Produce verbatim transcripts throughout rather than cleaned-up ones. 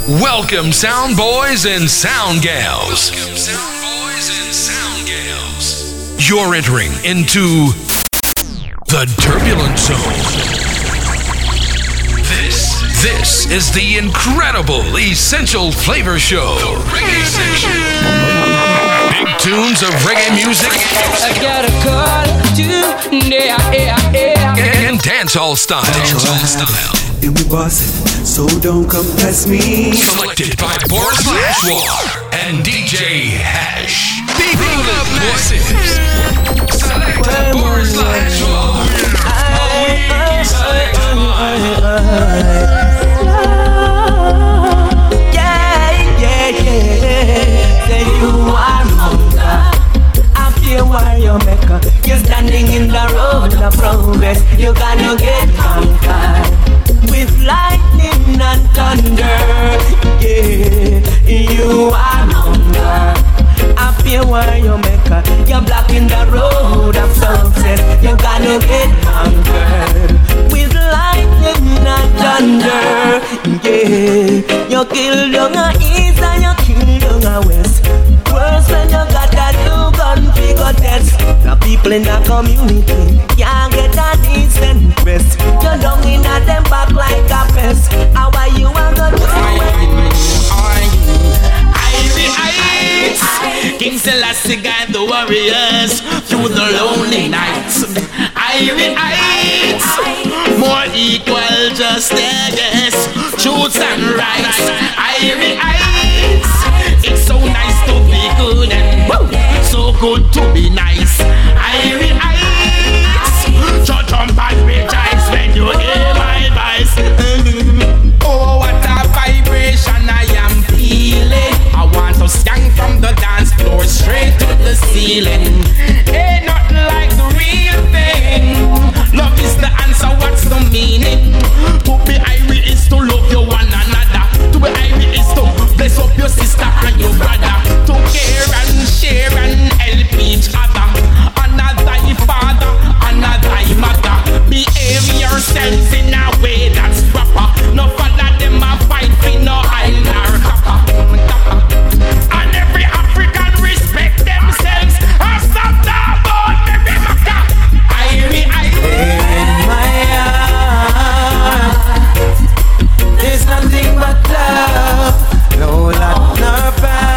Welcome, sound boys and sound gals. Welcome, sound boys and sound gals. You're entering into the Turbulent Zone. This, this is the incredible Essential Flavor Show. The Reggae Section. Big tunes of reggae music. I got a call to yeah, yeah, yeah. And dancehall style. Dancehall style. And we boss it, so don't come test me. Selected by Boris Lashwar and D J Hash. People of Massives. Selected Boris Lashwar. Yeah, yeah, yeah. Say you are hunger. I feel why you make her. You're standing in the road of progress. You gotta get conquered. With lightning and thunder, yeah, you are hunger. I feel where you make her. You're blocking the road of success. You gotta get conquered. With lightning and thunder, yeah, you kill down a east and you kill down a west. Worse when you got that new gun figure test. The people in the community can't get a decent rest. You're down in a them back like a pest. How are you and the Irie King Selassie guide the warriors through the lonely nights. Irie Heights, more equal justice, truths and rights. Irie Heights, it's so nice to be good and woo, so good to be nice. Irie Heights, jump jump and rejoice when you hear my voice. Oh, what a vibration I am feeling. I want to stand from the dance floor straight to the ceiling. Ain't nothing like the real thing. Love is the answer, what's the meaning? To be Irie is to love you one another. To be Irie is to bless up your sister and your brother. To care and share and help each other. Another thy father, another thy mother. Behave yourselves in a way that's proper. No father them a fight for no island or copper. And every African respect themselves. I stop the boat, baby Maka. Irie, Irie. in my heart, there's nothing but love. No lot nor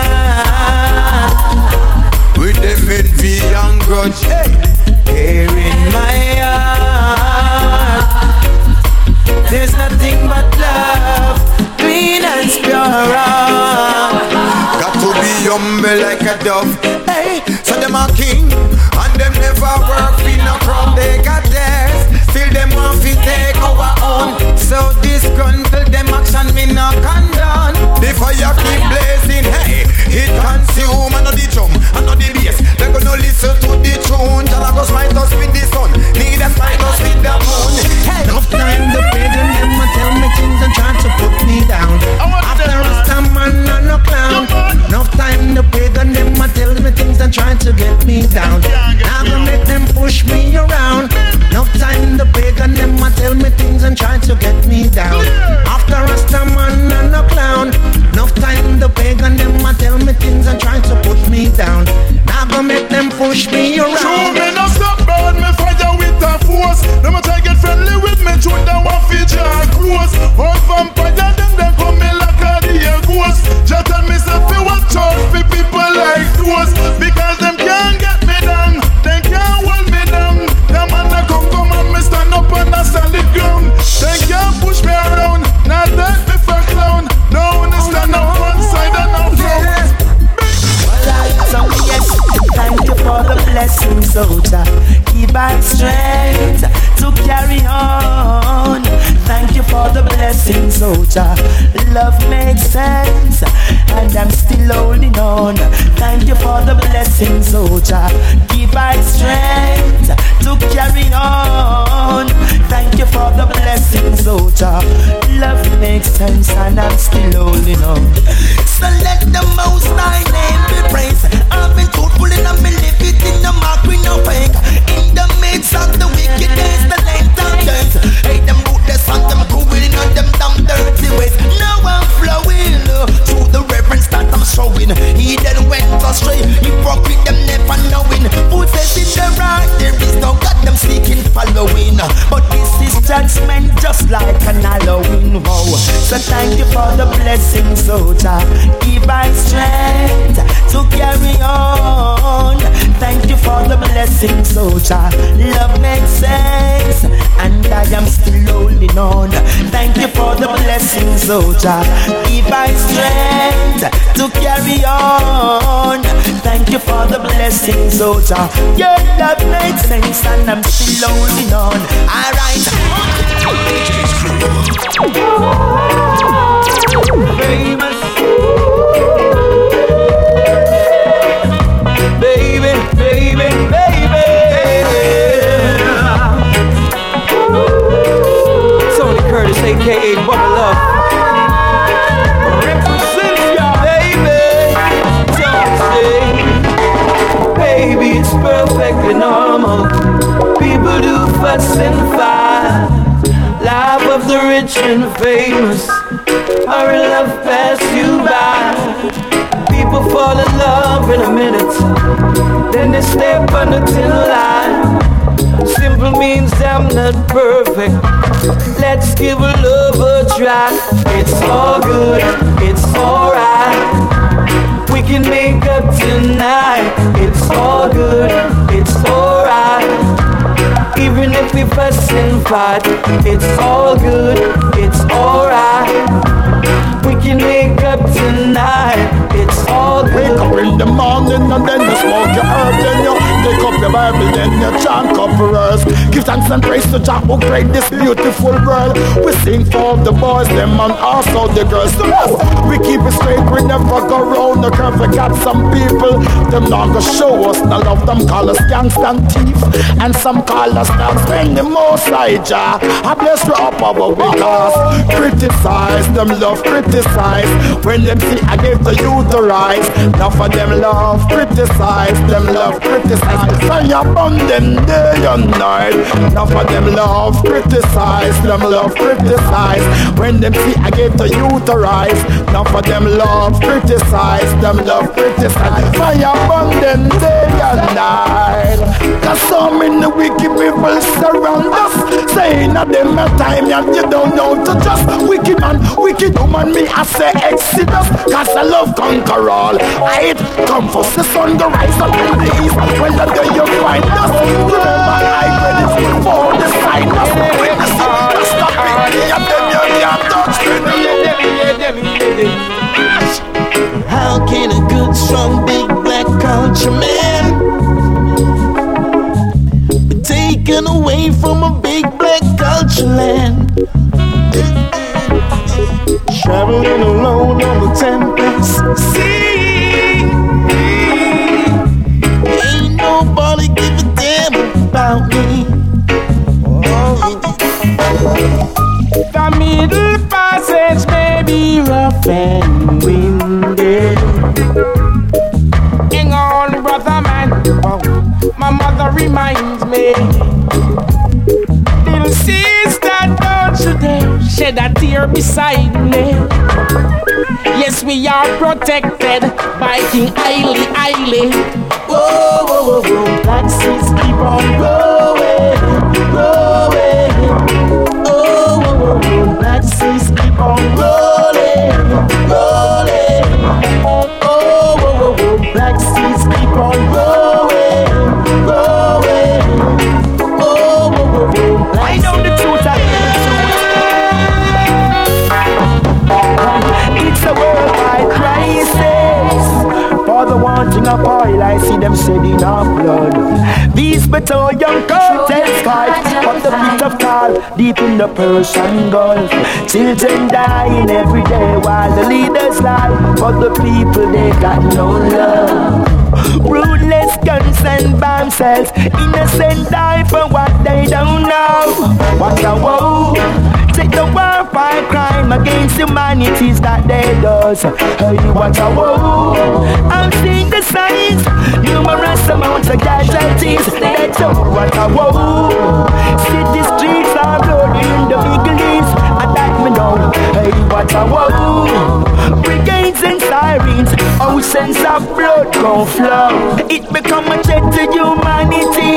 bad. With them envy and grudge, hey. Here in my heart, there's nothing but love, clean and pure. Got to be humble like a dove. Hey, so them a king, and them never work in a crown. They got theirs, still them want to take our own. So disgruntled, them action me not condone. The fire keep blazing, hey, it consume. I know the drum, I know the bass. They gonna listen to the tune. Jala go smite us with the sun, need a smite us with the moon. Hey, Enough time the pagan them a tell me things and try to put me down. After Rasta man and no clown. Enough time the pagan them a tell me things and try to get me down. Now gonna make them push me around. Enough time the pagan them a tell me things and try to get me down. After Rasta man and no clown. Enough time the pagan them a tell me things and try to put me down. Now gonna make them push me around. True, me no stop burn me fire with a force. Them a try get friendly with me, true them want feature close. All vampire them them come me like a dear ghost. Just tell me say fi watch out for people like those, because them can't get me down, they can't hold me down. Them man a come come and me stand up on the solid ground. They can't push me around, not take me for clown. No one stand up one side and no front. So yes, thank you for the blessing, soldier. Keep our strength to carry on. Thank you for the blessing, soldier. Love makes sense, and I'm still holding on. Thank you for the blessing, soldier. Keep our strength to carry on. Thank you for the blessing, soldier. Love makes sense, and I'm still holding on. So let the Most High name be praised. I've been truthful in a me live it in the mark we no fake. In the midst of the wicked days, the late time days. Hey, them ruthless and them cruel in them damn dirty ways. Now I'm flowing. meant just like an Halloween wow. So thank you for the blessing, soldier. Give my strength to carry on. Thank you for the blessing, soldier. Love makes sense, and I am still holding on. Thank you for the blessing, soldier. Give my strength to carry on. Thank you for the blessing, soldier. Your love makes sense, and I'm still holding on. Alright. Famous. Baby, baby, baby. Tony Curtis, A K A Bubba Love. Represent ya, baby. Don't say, baby, it's perfectly normal. People do fuss and fight. Life of the rich and famous. Hurry, love pass you by. People fall in love in a minute, then they step on the thin line. Simple means I'm not perfect. Let's give a love a try. It's all good, it's alright. We can make up tonight. It's all good, it's alright. Even if we fuss and fight, it's all good, it's alright. We can make up tonight. It's all good. Wake up in the morning and then you smoke your herb. Then you take up your Bible, then you chant couple verse. Give thanks and praise to Jah who created this beautiful world. We sing for the boys, them and also the girls. To us, we keep it straight, we never go round the curve. We got some people, them not gonna show us no love. Them call us gangsta and thief, and some call us dogs. When the most high Jah, I bless you up our because criticize them love, criticize. When them see I give the youth the rise. Now for them love, criticize. Them love, criticize. Fire burn them day and night. Now for them love, criticize. Them love, criticize. When them see I give the youth the rise. Now for them love, criticize. Them love, criticize. Fire burn them day and night. Cause so many wicked people surround us, saying that them a time and you don't know to just wicked man, wicked woman. Me I say Exodus, cause I love conquer all. I hate come first, the sun go rise up in the east. Well the day you find us, remember I read it before the sign us. Witness it, just stop it, and then you can't touch me. How can a good, strong, big black culture man be taken away from a big black culture land? Traveling alone on the Tempest Sea. Ain't nobody give a damn about me. The middle passage may be rough and windy. Hang on, brother man. My mother reminds me. Little sister, don't you dare shed a tear beside me. Yes, we are protected by King Haile Haile. Whoa, whoa, whoa, whoa. Black seas keep on growing, growing. Oh, whoa, whoa, whoa. Black seas keep on rolling, rolling. Oh, whoa, whoa, whoa. Black seas keep on growing, growing. Oh, whoa, whoa, whoa. Black I know the truth, I know the truth. It's a worldwide crisis. For the wanting of oil, I see them shedding our blood. These petroleum cartels fight, but the pit of tar deep in the Persian Gulf. Children dying every day while the leaders lie. But the people, they got no love. Ruthless guns and bomb cells, innocent die for what they don't know. What a woe! Take the war for crime against humanities that they does. Hey, what a woe! I've seen the signs, numerous amounts of casualties. That's a what a woe! City streets are bloody in the Middle East, and that me know. Hey, what a woe! Brigades and sirens, oceans of blood gon' flow. It become a threat to humanity.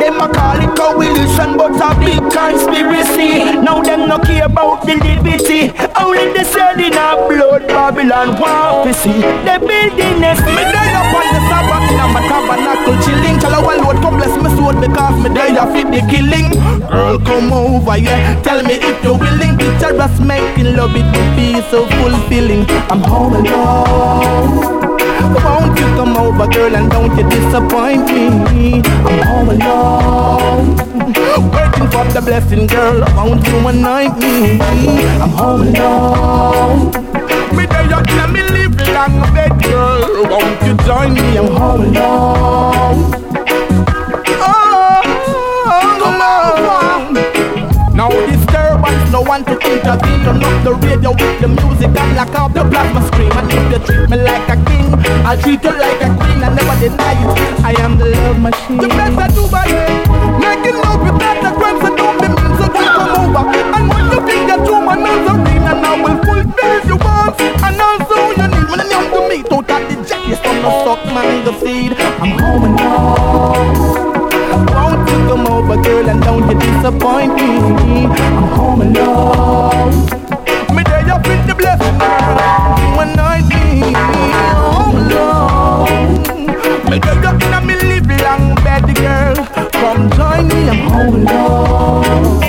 them a call it coalition, but a big conspiracy. Now them no care about the liberty. Only the selling of blood Babylon want to see. The building is me die up on the Sabbath in my tabernacle chilling. Tell our Lord come bless me sword because me die a fit the killing. Girl come over here, tell me if you're willing. Picture us making love, it would be so fulfilling. I'm home alone. Won't you come over, girl, and don't you disappoint me? I'm home alone, waiting for the blessing, girl. Won't you anoint me? I'm home alone. Me there you tell me live long bed, girl. Won't you join me? I'm home alone. Oh, come on. Now disturbance, no one to intervene. Turn up the radio with the music and lock out the plasma screen. And if you treat me like a king, I'll treat you like a queen. I never deny it, I am the love machine. You better do by it, making love with better crimes and don't be mean. So just come over and when you think that you're my Nazarene, and I will fulfill your wants and also your need. When you come to me, don't have the jacket from the suck mango seed. I'm home and home. Won't you come over, girl, and don't you disappoint me? I'm home alone. Me there you fit the blessing, girl. You anoint me. I'm home alone. Me there you in a me live long bed, girl. Come join me, I'm home alone.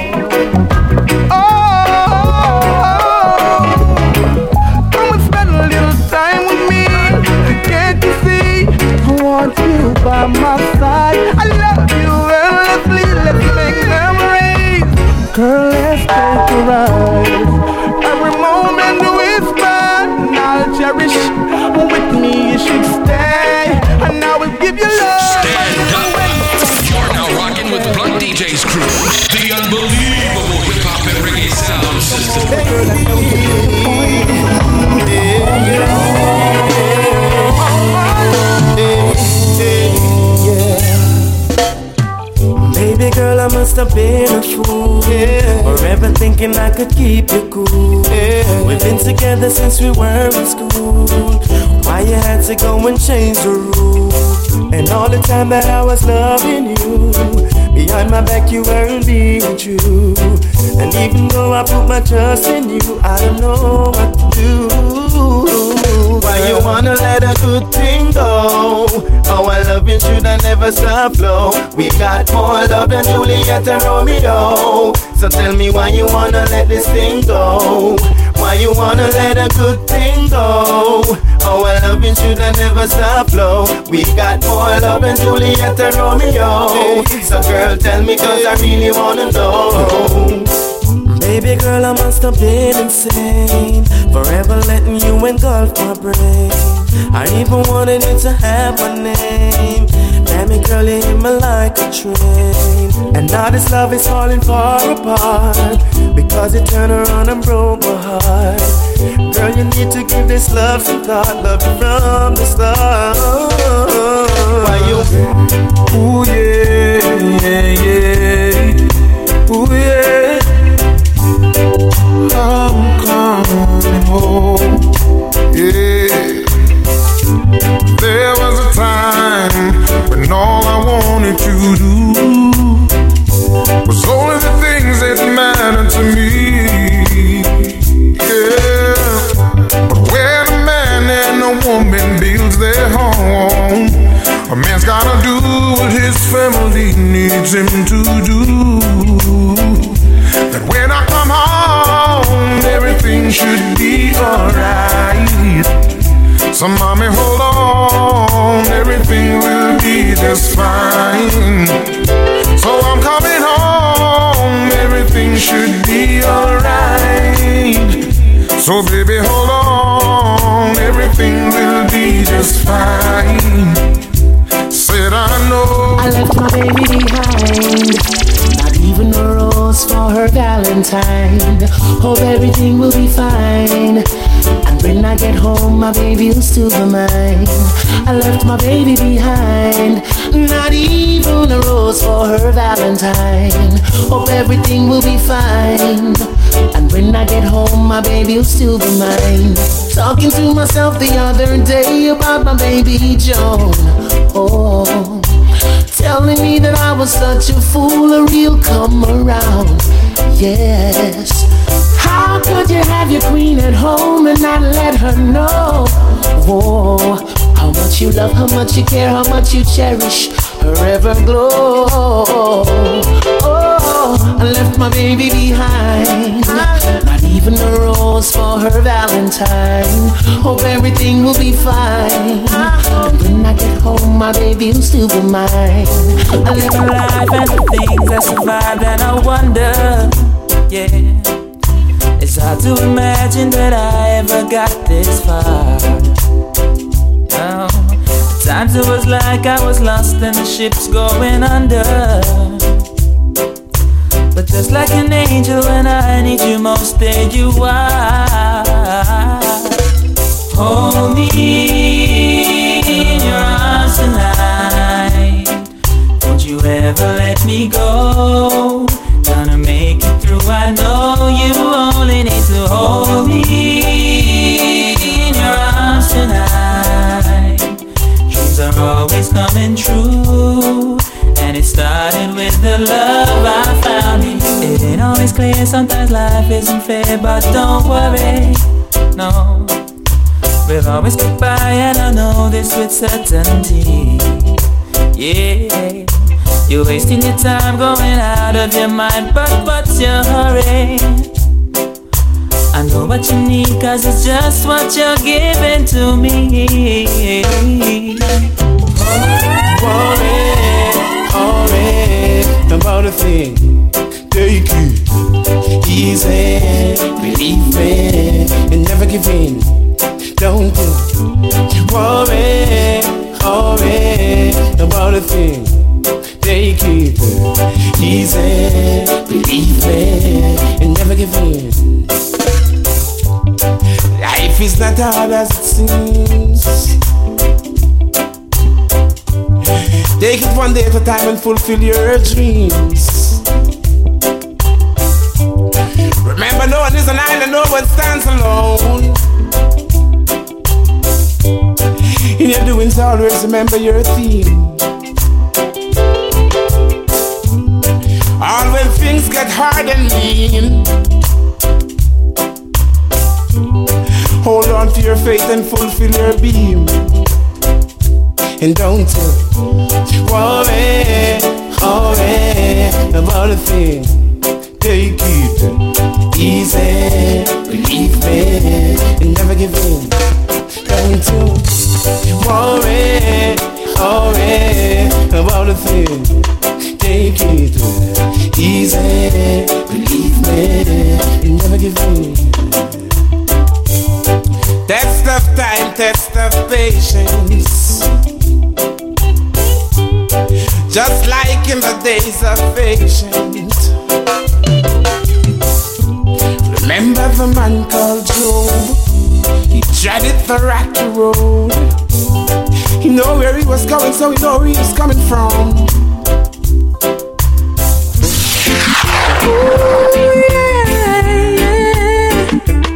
Oh, come and spend a little time with me. Can't you see? I want you by my side. I love you endlessly. Let's make memories. Girl, let's take a ride. Every moment we spend, I'll cherish. With me, you should stay. And I will give you love. Stand up. You're now rocking with Blunt D J's crew. The unbelievable hip hop and reggae sound system. Girl, I know Baby girl, I must have been a fool, yeah. Forever thinking I could keep you cool, yeah. We've been together since we were in school. Why you had to go and change the rules? And all the time that I was loving you, behind my back you weren't being true. And even though I put my trust in you, I don't know what to do. Why you wanna let a good thing go? Our loving should have never stop flow. We got more love than Juliet and Romeo. So tell me why you wanna let this thing go? Why you wanna let a good thing go? Our loving should have never stop flow. We got more love than Juliet and Romeo. So girl, tell me cause I really wanna know. Baby girl, I must have been insane, forever letting you engulf my brain. I even wanted you to have my name. Damn it, girl, you hit me like a train. And now this love is falling far apart, because you turned around and broke my heart. Girl, you need to give this love some thought. Love you from the start. Why you? Ooh yeah, yeah, yeah. Ooh yeah. I'm coming home, yeah. There was a time when all I wanted to do was only the things that mattered to me, yeah. But when a man and a woman builds their home, a man's gotta do what his family needs him to do. That when I come home, everything should be alright. So mommy, hold on, everything will be just fine. So I'm coming home, everything should be alright. So baby, hold on, everything will be just fine. Said I know I left my baby behind. Not even a rose for her Valentine. Hope everything will be fine. And when I get home, my baby will still be mine. I left my baby behind. Not even a rose for her Valentine. Hope everything will be fine. And when I get home, my baby will still be mine. Talking to myself the other day about my baby Joan. Oh, telling me that I was such a fool, a real come around. Yes. How could you have your queen at home and not let her know? Whoa, how much you love, how much you care, how much you cherish her ever glow. Oh, I left my baby behind, not even a rose for her Valentine. Hope everything will be fine, and when I get home my baby will still be mine. I live a life and the things I survived, and I wonder, yeah, it's hard to imagine that I ever got this far. No, at times it was like I was lost and the ship's going under. But just like an angel when I need you most, there you are. Hold me in your arms tonight. Don't you ever let me go. Gonna make it through, I know you only need to hold me in your arms tonight. Dreams are always coming true, and it started with the love I found in you. It ain't always clear, sometimes life isn't fair, but don't worry, no. We'll always get by, and I know this with certainty. Yeah. You're wasting your time going out of your mind, but what's your hurry? I know what you need, cause it's just what you're giving to me. Worry, worry about a thing. Take it easy, believe me, and never give in. Don't you worry, worry about a thing. Take it easy, believe me, and never give in. Life is not hard as it seems. Take it one day at a time and fulfill your dreams. Remember, no one is an island, no one stands alone. In your doings, always remember your theme. All when things get hard and lean, hold on to your faith and fulfill your beam. And don't you worry, worry about a thing. Take it easy, believe me, and never give in. Don't you worry, worry about a thing. Take it easy, believe me, and never give in. Test of time, test of patience. Just like in the days of patience. Remember the man called Job? He treaded the rocky road. He knew where he was going, so he knew where he was coming from. Oh, yeah, yeah.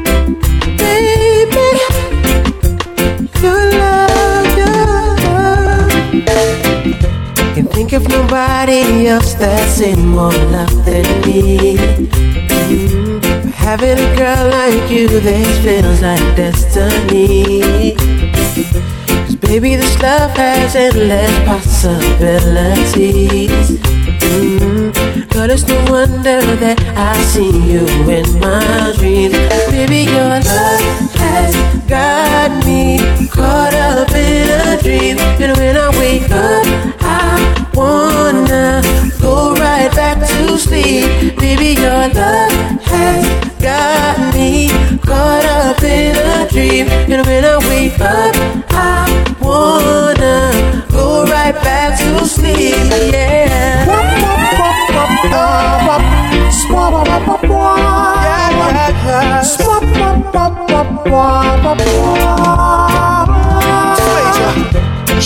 Baby, your love, your love. Can't think of nobody else that's in more love than me. Mm-hmm. Having a girl like you, this feels like destiny. Cause baby, this love has endless possibilities. Mm-hmm. But it's no wonder that I see you in my dreams. Baby, your love has got me caught up in a dream. And when I wake up, I wanna go right back to sleep. Baby, your love has got me caught up in a dream. And when I wake up, I wanna go right back to sleep. Yeah.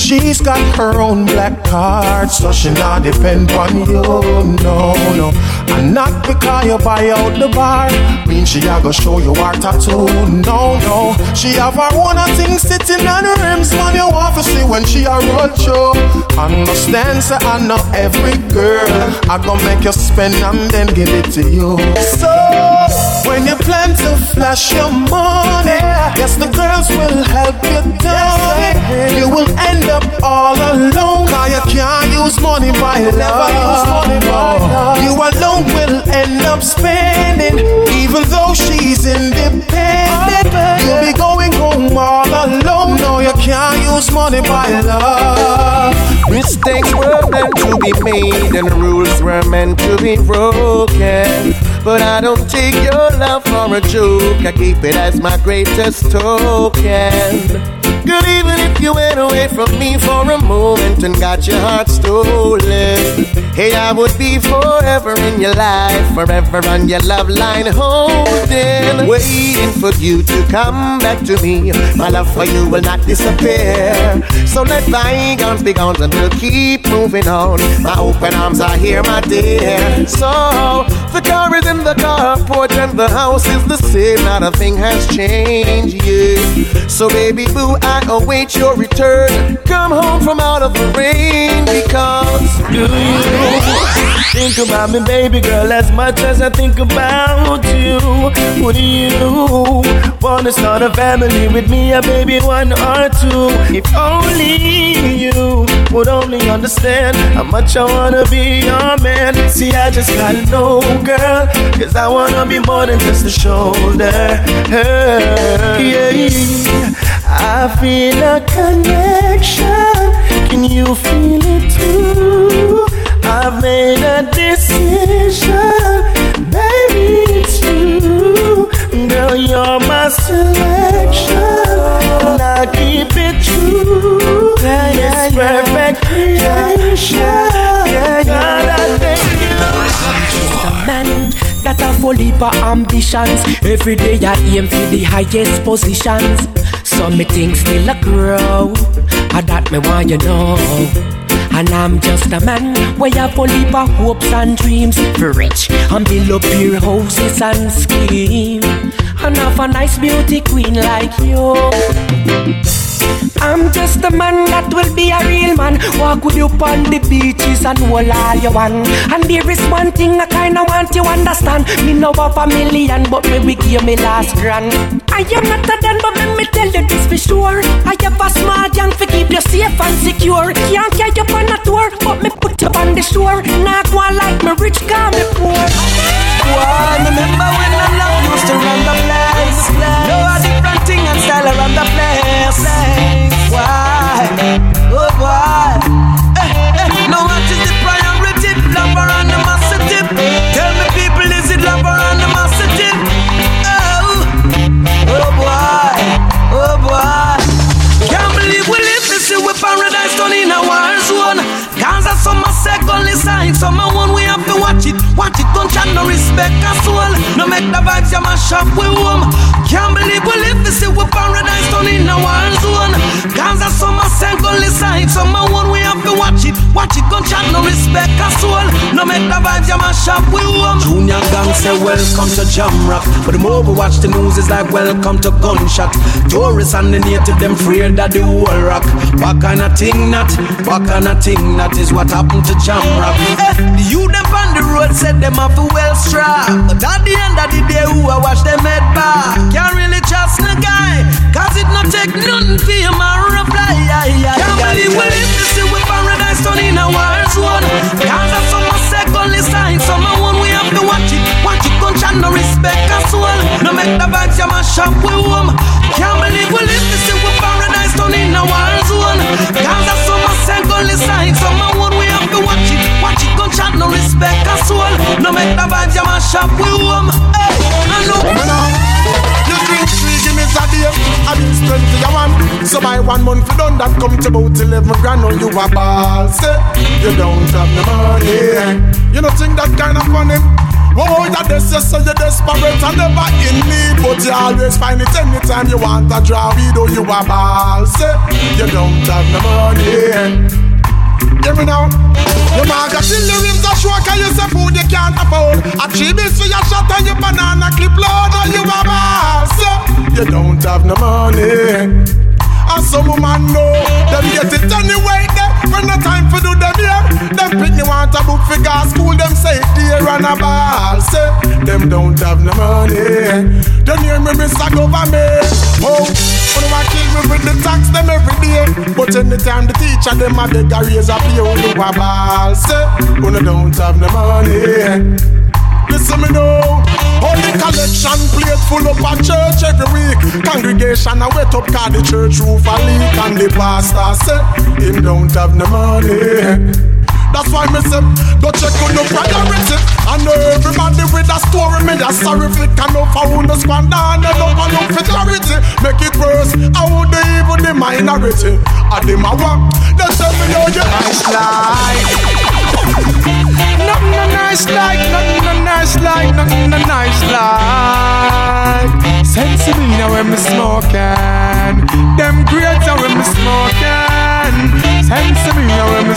She's got her own black card, so she not depend on you, no, no. And not because you buy out the bar, mean she a go show you her tattoo, no, no. She have her own thing sitting on her rims, man, you want to see when she a roll show. Understand, say I know every girl, I gon' make you spend and then give it to you. So, when you plan to flash your money, yes, the girls will help you down. You will end up all alone, cause you can't use money by love. You alone will end up spending, even though she's independent. You'll be going home all alone. No, you can't use money by love. Mistakes were meant to be made and rules were meant to be broken. But I don't take your love for a joke, I keep it as my greatest token. Good, even if you went away from me for a moment and got your heart stolen, hey, I would be forever in your life, forever on your love line holding, waiting for you to come back to me. My love for you will not disappear, so let bygones be gone and we'll keep moving on. My open arms are here, my dear. So the car is in the carport and the house is the same, not a thing has changed, yeah. So baby boo, I await your return. Come home from out of the rain, because do you think about me, baby girl, as much as I think about you? Would you wanna start a family with me, a baby one or two? If only you would only understand how much I wanna be your man. See, I just gotta know, girl, cause I wanna be more than just a shoulder. Yeah, I feel a connection. Can you feel it too? I've made a decision, baby, it's you. Girl, you're my selection, and I keep it true. Yeah, yeah, it's yeah. Perfect creation. Yeah, yeah, God, I thank you. Just a man that a full heap of ambitions. Every day I aim for the highest positions. So me things still a grow, and that me want you know. And I'm just a man where you full heap of hopes and dreams. For rich and build up your houses and scheme, and have a nice beauty queen like you. I'm just a man that will be a real man. Walk with you on the beaches and hold all you want. And there is one thing I kinda want you understand. Me know of a million, but me we give me last grand. I am not a dan, but let me tell you this for sure. I have a smart young to keep you safe and secure. Can't carry you on a tour, but me put you on the shore. Not one like me rich, call me poor. Why, remember when I love used to run the place? No, a different thing and style around the place. Why? Oh boy. Hey, hey. Now what is the priority? Love or animosity? Tell me people, is it love or animosity? Oh, oh boy, oh boy. Can't believe we live this year with paradise done in a war zone. Cause of some second sign, some one we have to watch it. Watch it, don't chat, no respect a soul. No make the vibes you mash up with home. Can't believe we live this year with paradise done in a war zone. Cause of some second sign, some one we have to watch it. Watch it, don't chat, no respect a soul. No make the vibes you mash up with home. Junior gang say welcome to Jam Rock, but the more we watch the news is like welcome to gunshot. Tourists and the native them afraid that the whole rock. What kind of thing that? What kind of thing that is what happened to Jam Rock? Eh, the youth them on the road said them have to well strap, but at the end of the day who I watch them head back. Can't really trust the guy, cause it not take nothing for him and reply. Can't believe we live to see with paradise done in a war zone. Cause of some second sign, some one we have to watch it. Watch it, gun chat, no respect a soul. No make the vibes you mash up with home. Can't believe we live to see with paradise done in a war zone. Cause of some second sign, some one we have to watch it. Watch it, gun chat, no respect a soul. No make the vibes you mash up with home. Hey, I know. You drink three Guinness a day, and it's twenty a one. So by one month you done that come to about eleven grand. On you a ball, say you don't have no money. You don't think that kind of funny? Oh, that this is so you're desperate and never in need, but you always find it anytime you want to draw weed or you a ball. Say, you don't have no money. Hear me now. Your man got till the rims are short and you say food you can't afford. A three bills for your shot and your banana clip load or you a ball. Say, you don't have no money. And some woman know them get it anyway there. When the time for do them here, them pick me want a book for gas school. Them say dear and a ball. Say them don't have no money. Don't hear me Mister Government. Oh, when I kill me with the tax them every day. But anytime the teacher them a beg a raise a pay on you a ball. Say when I don't have no money. Listen me now. Holy collection plate full up a church every week. Congregation a wet up cause the church roof a leak. And the pastor say him don't have no money. That's why me say go check on the priority. I know everybody with a story. Me a sorry if it can no found no squander. And they don't want no fidelity. Make it worse, I would even the minority. I dem a walk. They tell me know you nice life. Nothing no nice like, nothing no nice like, nothing no nice like. Sense me now when me smoking. Them grades are when me smoking. Sense me now when me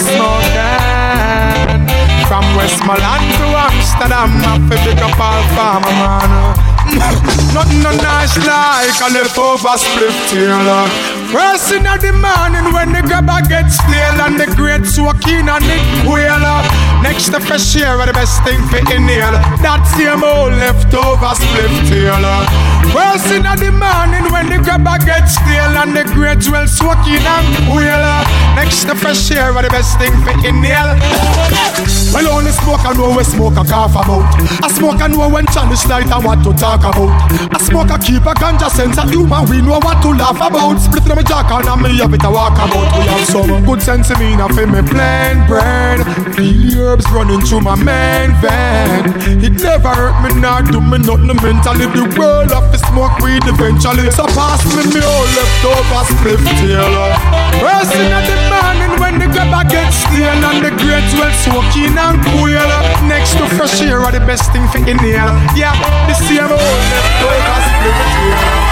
smoking. From Westmoreland to Amsterdam, I feel pick up all farmer man. Nothing no nice like a leftover split tail. First in the morning when the grabber gets stale and the great soaking and the quail. Next to fresh air are the best thing for inhale. That same old leftover split tail. First in the morning when the grabber gets stale and the great well soaking and quail. Next to fresh air are the best thing for inhale. Well only smoke I know we smoke a cough about. I smoke I know when challenge light and what to talk about. I smoke a keep a ganja sense of humor. We know what to laugh about. Split in my jack and me have it a walk about. We have some good sense in me now for me plain brain. Feel herbs running through my main vein. It never hurt me, not do me nothing mentally. The world of the smoke weed eventually. So pass me me all leftover split tail. First in the morning when the grabber gets stale and the great well soaking and cool. Next to fresh air are the best thing for inhale. Yeah, the same old leftover split tail.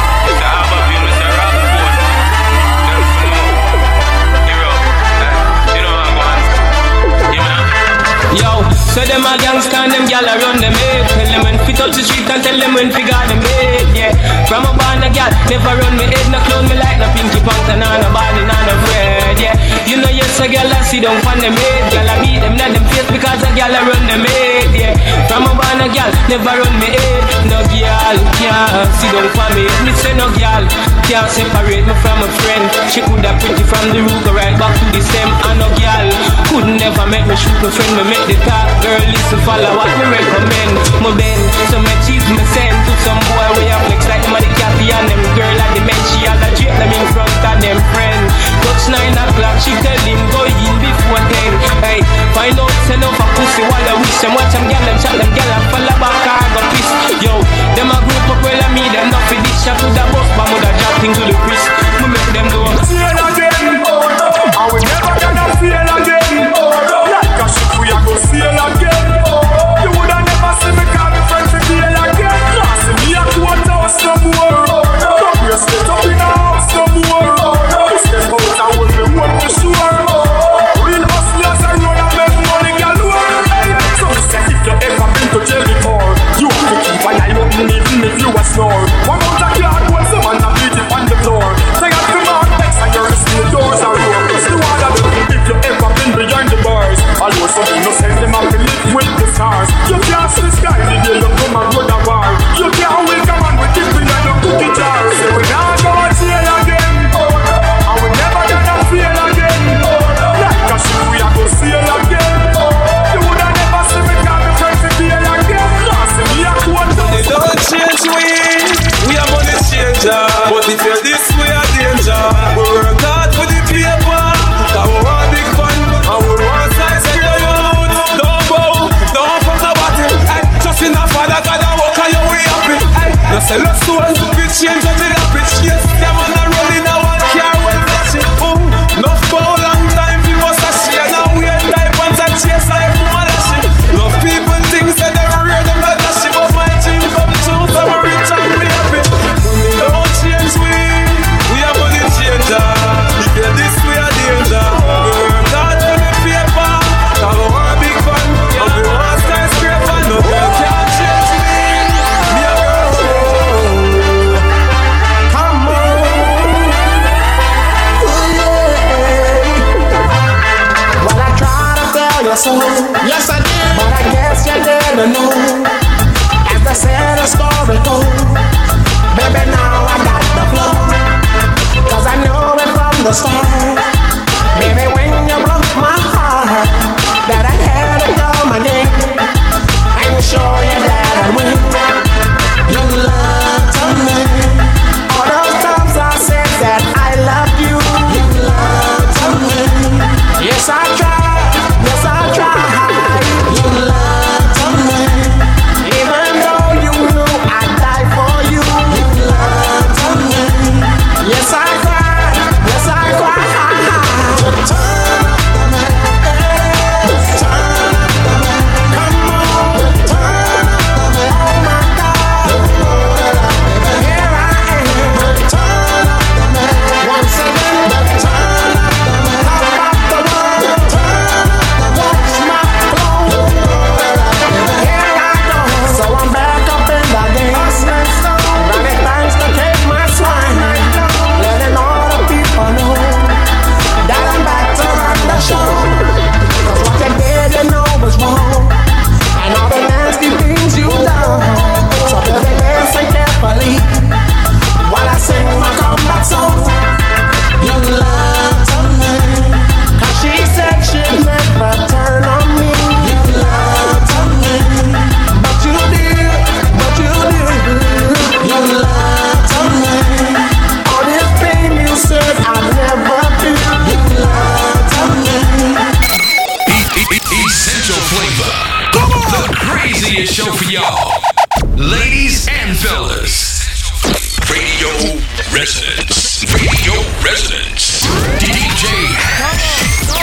Yo, so them a gangsta and them gyal a run them head. Tell them when fit up the street and tell them when fi got them bed. Yeah, from a band a gyal never run me head. No clown me like no Pinky Panther, nah no Barney, nah no Fred. Yeah, you know yes a gyal a sit down on them head. Gyal a beat them in them face because a gyal a run them head. Yeah, from a band a gyal never run me head. No gyal can't sit down for me. Me say no gyal can't separate me from a friend. She coulda pretty from the root go right back to the stem. And no gyal could never make me shoot my friend. Me make the top girl listen follow what me recommend. My bend, so me cheese me send to some boy way up flex like them a the Cathy and them girl at the men. She had a drip them in front of them friend. Touch nine o'clock, she tell him go in before ten. Hey, find out send off a pussy while I wish them. Watch them gyal them shot them gyal and fall back and go piss. Yo, them a group up well and me them not for this shot to the bus but mother dropping to the Chris. Me make them do feel again. I will never gonna feel again. Like a ship we a go sail again. You woulda never see me call me friend for deal again. See me a quarter house no more. Come here, step up in a house no more. You step out and hold me one for sure. Real hustlers are run and make money galore. So me say if you ever been to jail before, you have to keep an eye open even if you a snore. One out of yard, one some man a beat it on the floor. Take out the mark next and your steel doors are open. It's the one that if you ever been behind the bars. Although some innocent them have to live with the stars. You can't see the sky, the day you come and go to war. You can't wake a man with this behind the cookie jar. Say we not go to jail again, and we never gonna fail again. Like a ship we a go sail again. You woulda never see me call me friend for deal again. See me a quote. They don't change we, we are money changer. But if you're this way a danger, we work hard for the paper. Cause we want big fun, and we want size of your youth. Don't bow, don't fuck about it. Ay, just in a father, God a walk on your way up it. Ay, no sell a soul, we change up the rapid. Yes, them on a rolling a one car well matching. Oh, no for a long time, we was a share. Now we ain't type and a chase like woman lashing. Love people think that they're real, them not lashing. But my dream come true, so I'm rich and we happy. residence. Radio residence. D J Hash.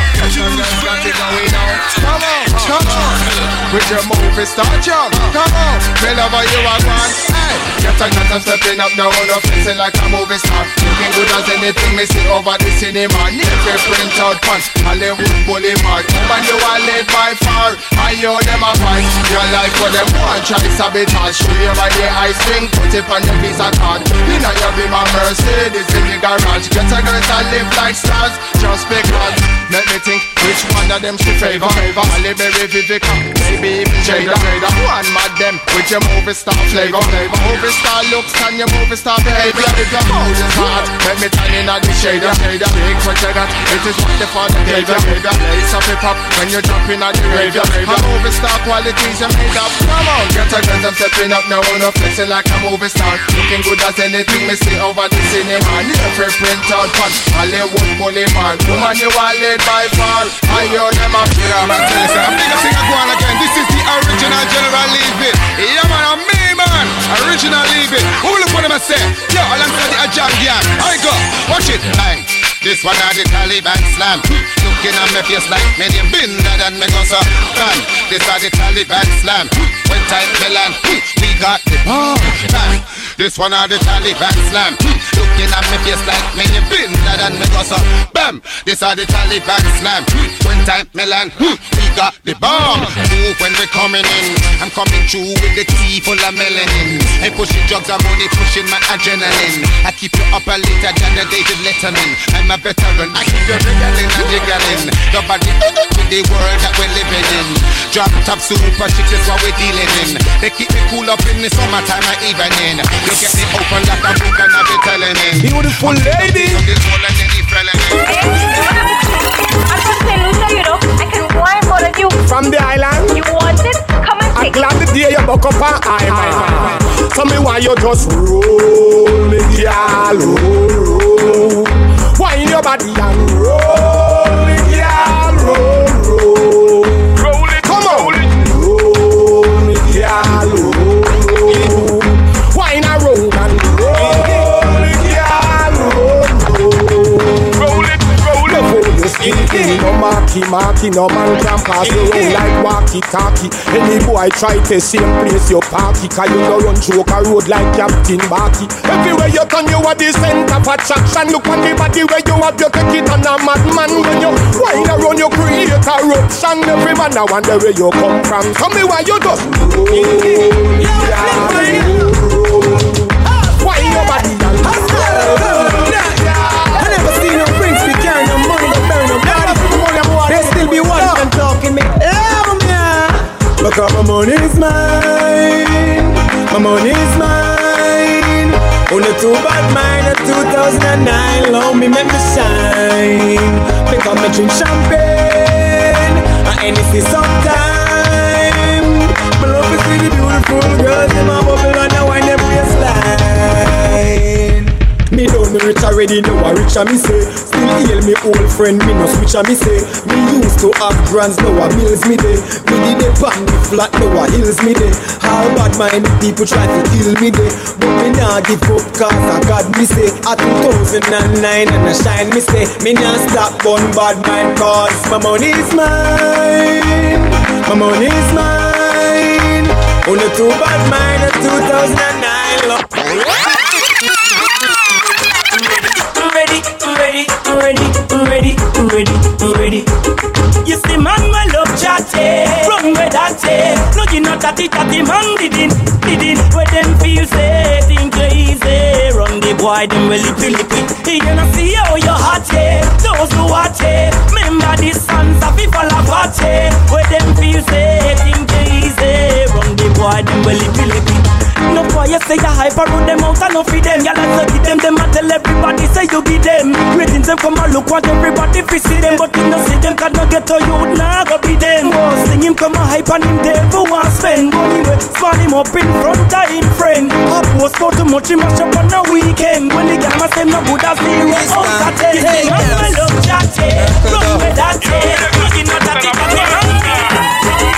Come on, come on. With your movie star job. Come on, whenever you are gone. Hey, get a cat and stepping up now on a facing like a movie star. Looking good as anything me see over the cinema. Never print out pants, Hollywood Boulevard. When you are led by far, I know them a fight. Your life for them one try sabotage. Show you by the high string, put it on your visa card. You know you be my Mercedes in the garage. Get a girl that live like stars, just because. Let me think which one of them she favor. Halle Berry, Vivica, maybe even Jada. One mad them with your movie star flavor. Movie star looks and your movie star behavior. If your house is hot, let me turn in at the shader. Big for that, it is what the father gave you. Lace up hip hop when you're jumping at the graveyard. A movie star qualities you made up. Come on, get a girl, I'm stepping up now on a flexing like a movie star. Looking good as anything me see over the cinema. Never print out fun, Hollywood Boulevard. Woman you are led by far. I hear them up here. I'm gonna tell you something. I'm gonna sing a go on again. This is the original General Leave It. Yeah man, I'm me man. Original Leave It. Who will look what I'm say? Yo, alongside the Ajam Gang. I go. Watch it. Bang. This one are the Taliban slam. Looking at me face like me name been than me go so. Bang. This are the Taliban slam. When time Milan, we got the bomb. Bang. This one are the Taliban slam. Looking at me face like me name been than me go so. Bam. This are the Taliban slam. When time Milan, we got the bomb. Move when we coming in. I'm coming through with the tea full of melanin. I pushing drugs and money, pushing my adrenaline. I keep you up a later than the David Letterman. I'm a veteran, I keep you wriggling and jiggling. Nobody with the world that we're living in. Drop top super chicks is what we're dealing in. They keep me cool up in the summertime and evening. You get me open like a book and I'll be telling it. Beautiful lady. I can wine for you. From the island. You want it? Come and take it. I'm glad the day you buck up an eye. Tell me why you just roll me, girl, roll, roll. Wine your body and roll me, girl, roll, roll. Roll it, come on. Roll me, girl, roll. Wine a roll and roll me, girl, roll, roll. Roll it, roll it. Skinny, no marky, marky, no man can pass you round like walkie-talkie. Any boy try to same place you parky, cause you no run joke a road like Captain Barky. Everywhere you turn you are the center of attraction. Look on the body where you have you take it on a madman. When you wind around you create a eruption. Every man I wonder where you come from. Tell me why you just roll, yeah, roll. Why your body and roll. I never seen no prince be carrying no money, no burn no body. They still be watching and talking me. Because my money is mine. My money is mine. Only two bad mind at two thousand nine. Love me, make me shine. Because me drink champagne and anything sometime. My love is see the beautiful girls in my bubble and I wine them waistline. Me don't know rich already, know I rich and me say. Still hail me old friend, me no switch and me say. Me used to have grands, now I bills me day. Me did a pan me flat, now I hills me day. How bad minded people try to kill me day. But me nah give up cause I got me say. At two thousand nine and I shine me say. Me nah stop gun bad mind cause my money is mine. My money is mine. Only two bad mind at two thousand nine. Ready, ready, ready, ready, ready, ready. You see man, my love chatty, run with that tape. No, you not that it, that the man didn't, didn't. Where them feel say, think you easy. Run the boy, them well lippy lippy. He gonna see how you hot it, those who hot it. Remember the sons of people of party. Where them feel say, think you easy. Run the boy, them well lippy lippy. No boy, you say you hype around them out and no feed them. Y'all like to give them, them and tell everybody say you give them. Ratings them come and look want everybody fi see them. But you no see them cause no get to you, nah go be them. Oh, sing him come and hype and him devil want spend money with. Small him up in front of him friend. I post for too much, he mash up on the weekend. When the gamma say no good as zero out of ten. Hey, man, I love chatty, run with that tape. You know that it can be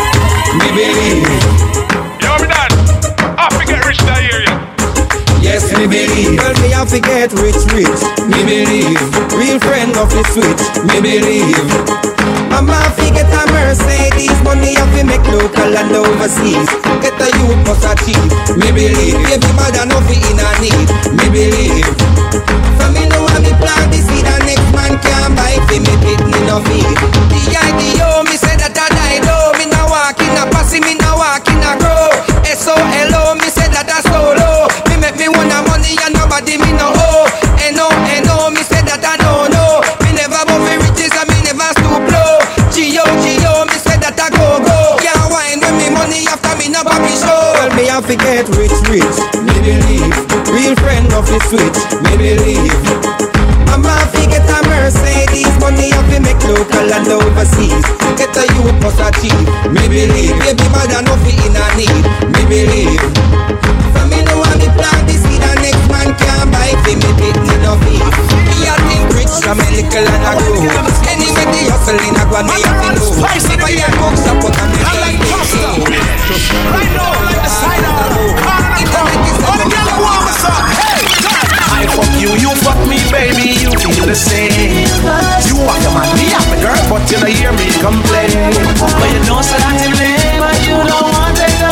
Me believe. Yo, me dad. I forget rich that area. Yes, me believe. Girl, me have to get rich, rich, me believe. Real friend of the switch, me believe. Mama fi get a Mercedes, money have to make local and overseas. Get a youth must achieve, me believe. Baby mother no fi in a need, me believe. For me know how me plant the seed and next man can't buy fi me pit me no feed. The idea me say that I die though. Me na walk in a passy, me na walk in a grow. S O L O me say that I solo. Me make me want a money and nobody me no owe. N O N O me say that I don't know. Me never move for riches and me never stoop low. G O G O me say that I go go. Can't wine with me money after me no baby show. Girl me have to get rich rich, me believe. Real friend of the switch, me believe. Mama fi get a Mercedes, money have to make local and overseas. Get a youth must achieve, me believe. Baby mother no fi in a need, me believe. For me know how me plant the seed and next man can't buy fi me pit me no feed. Me a think rich from a little and a grow. Anyway the hustle in a go me have to know. If I hear books up on me like pasta. Right now like the cider. All the girls who want me so. Hey, I fuck you, you fuck me, baby, you feel the same. You want your man, me, I'm the girl, but you don't hear me complain. But you know so that you blame, but you don't want to take the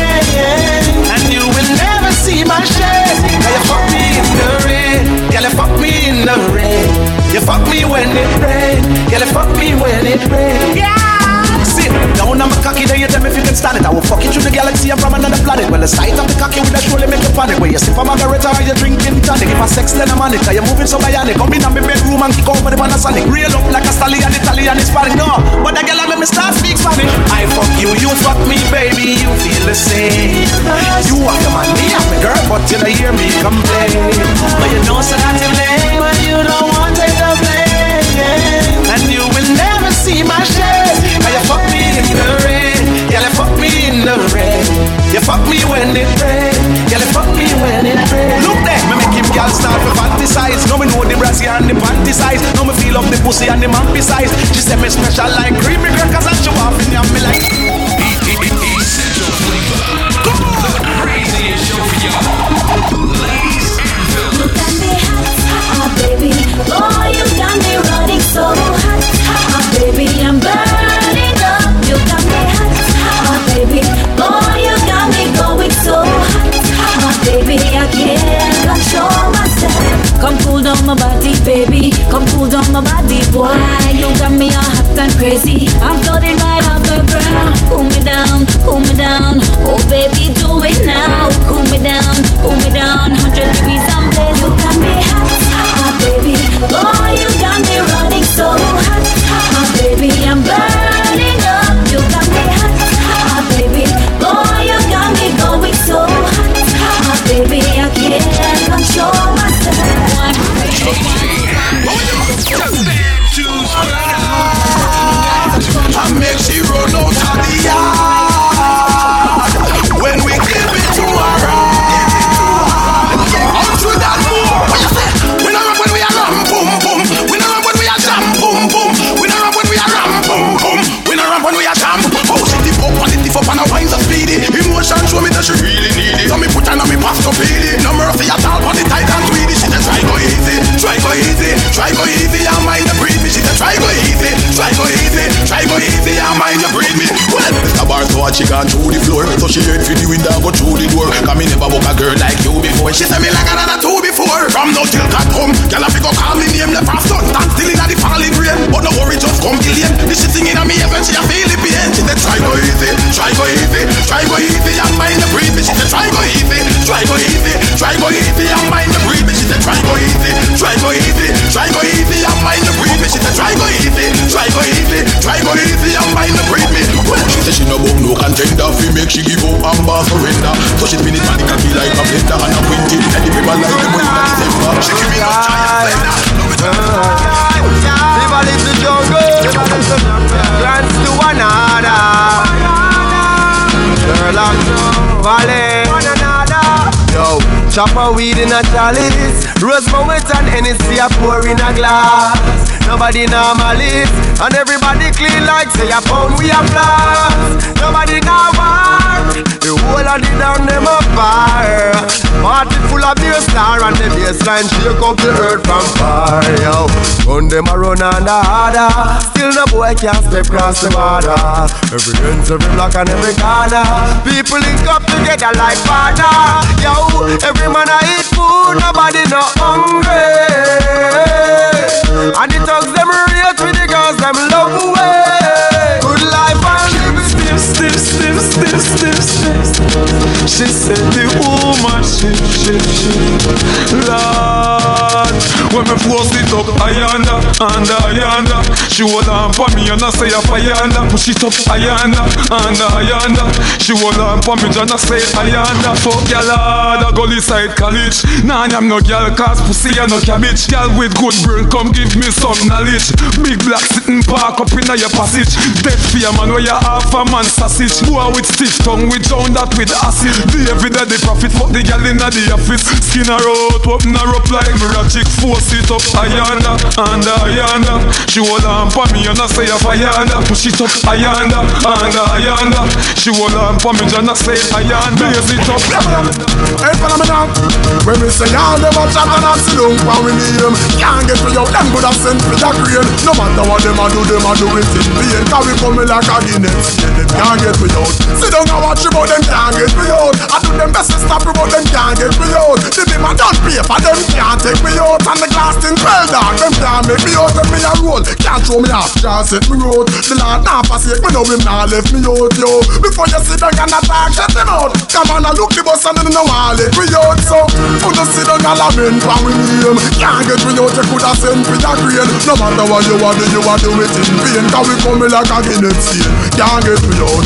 blame. And you will never see my shame. Now you fuck me in the rain, girl, you fuck me in the rain. You fuck me when it rain, girl, you fuck me when it rain. Yeah. Sit down on my cocky, then you tell me if you can stand it. I will fuck you through the galaxy, I'm from another planet. Well, the sight of the cocky will surely make you panic. Where you sip a margarita or you drinking tonic. If I sex then I'm on it, cause you're moving so bionic. Come in on my bedroom and kick over the Panasonic. Real up like a stallion, Italian, Hispanic. No, but the girl I make me start speak Spanish. I fuck you, you fuck me, baby, you feel the same. You are the man, me, I'm the girl, but you don't hear me complain. But you know so that you blame, but you don't want to take the blame. And you will never see my shame. Cause you fuck me in the rain, yeah, you fuck me in the rain. You fuck me when it rain, yeah, you fuck me when it rain. Look there, me make him girl start to fantasize. Now me know the brassiere and the panty size. Now me feel up the pussy and the man besides. She say me special like creamy girl, cause I show off in you, me like Essential flavor. The craziest show for y'all. Ladies and fellas. Oh baby, oh you got me running so hot. Oh baby, I'm burning up. You got me hot. Oh baby, oh you got me going so hot. Oh baby, I can't control myself. Come cool down my body, baby. Come cool down my body, boy. You got me all hot and crazy. I'm floating right off the ground. Cool me down, cool me down. Oh baby, do it now. Cool me down, cool me down. Hundred degrees, I'm there. You got me hot. Oh baby, oh you got me running so hot. Oh baby, I'm burning up. You got me hot. Oh baby, oh you got me going so hot. Oh baby, I can't control myself. I make she run out of the yard when we give it to her. Out through that more. What you say? We don't run when we are ram boom boom. We don't run when we are jam boom boom. We don't run when we are ram boom boom. We don't run when we are jam. Oh, she tip up and it tip up and her wine so speedy. Emotion show me that she really need it. So me put her on me pass to feel it. No mercy at all on the tight and tweedy. She said try go easy, try go easy, try go easy. I mind the breathe me. She said try go easy, try go easy, try go easy. I mind the breathe me. Well, Mister Bar so hard she gone through the floor. So she heard for the window go through the door. Cause me never book a girl like you before. She said me like another two before. From now till God come, girl I fi go call me name. Left her son, stand still inna the falling rain. But no worry, just come kill him. This shit singing on me heaven, she a feel the pain. She said try go easy, try go easy, try go easy. I mind the breathe me. She said try go easy, try go easy, try go easy. I mind the breathe me. She said try go easy, try go easy, try go easy. I mind the breathe me. She said try go easy, try go easy, try go easy. I mind the breathe me. Well, she said she no book no contender. Fi make she give up and bar surrender. So she spin it and it can be like a blender and a quinty. And the people like them when in December. She give me no giant blender. Live a little jungle, dance to another. Girl I'm valley. Yo, chop a weed in a chalice. Rose Moët and Hennessy a pour in a glass. Nobody normal it, and everybody clean like say a pound we a blast. Nobody now war, the whole of the down them a fire. Party full of beer star and the baseline shake up the earth from far. Yo, run them a run and a harder, still no boy can't step across the border. Every ends, every block and every corner, people link up together like father. Yo, every man a eat food, nobody no hungry. And the thugs them rate with the girls them love away. Good life and live stiff, stiff, stiff, stiff, stiff, stiff. She said the woman shit, shit, shit. Lord, when me force it up, ayanda, anda, ayanda. She hold on for me and I say a ayanda. Push it up, ayanda, anda, ayanda. She hold on for me and I say ayanda. Fuck ya lord, I go inside college. Nah, I'm no girl cause pussy and no cabbage. Girl with good brain, come give me some knowledge. Big black sitting park up in your passage. Dead fear man where you half a man sausage. Boy with stiff tongue, we drown that with acid. The every day the profit, fuck the girl in the office. Skin her out, open her up like magic. Force it up, ayanda, anda, ayanda. She hold on for me and I say a ayanda. Push it up, ayanda, anda, ayanda. She hold on for me and I say ayanda. Blaze it up. Hey, phenomenon. When we say all them a chat and a sit down and we name, can't get me out, them good a send for the green. No matter what them a do, them a do it in vain. Cause we come like a Guinness, yeah, them can't get me out. Sit down and watch about them can't get me out. I do them best to stop about them can't get me out. The them a done pay for them can't take me out. And the glass thing well dark, them can't make me out. Them me a roll, can't show me half, can't set me out. The Lord not forsake me, now him not left me out, yo. Before you sit down and attack, shut them out. Come on and look the bus and then no one let me out. So, put the sit down and lament for me name. Can't get me out, you could have sent for your grain. No matter what you want, you want to do it in vain. Cause we come like a Guinness stain. Can't get me out.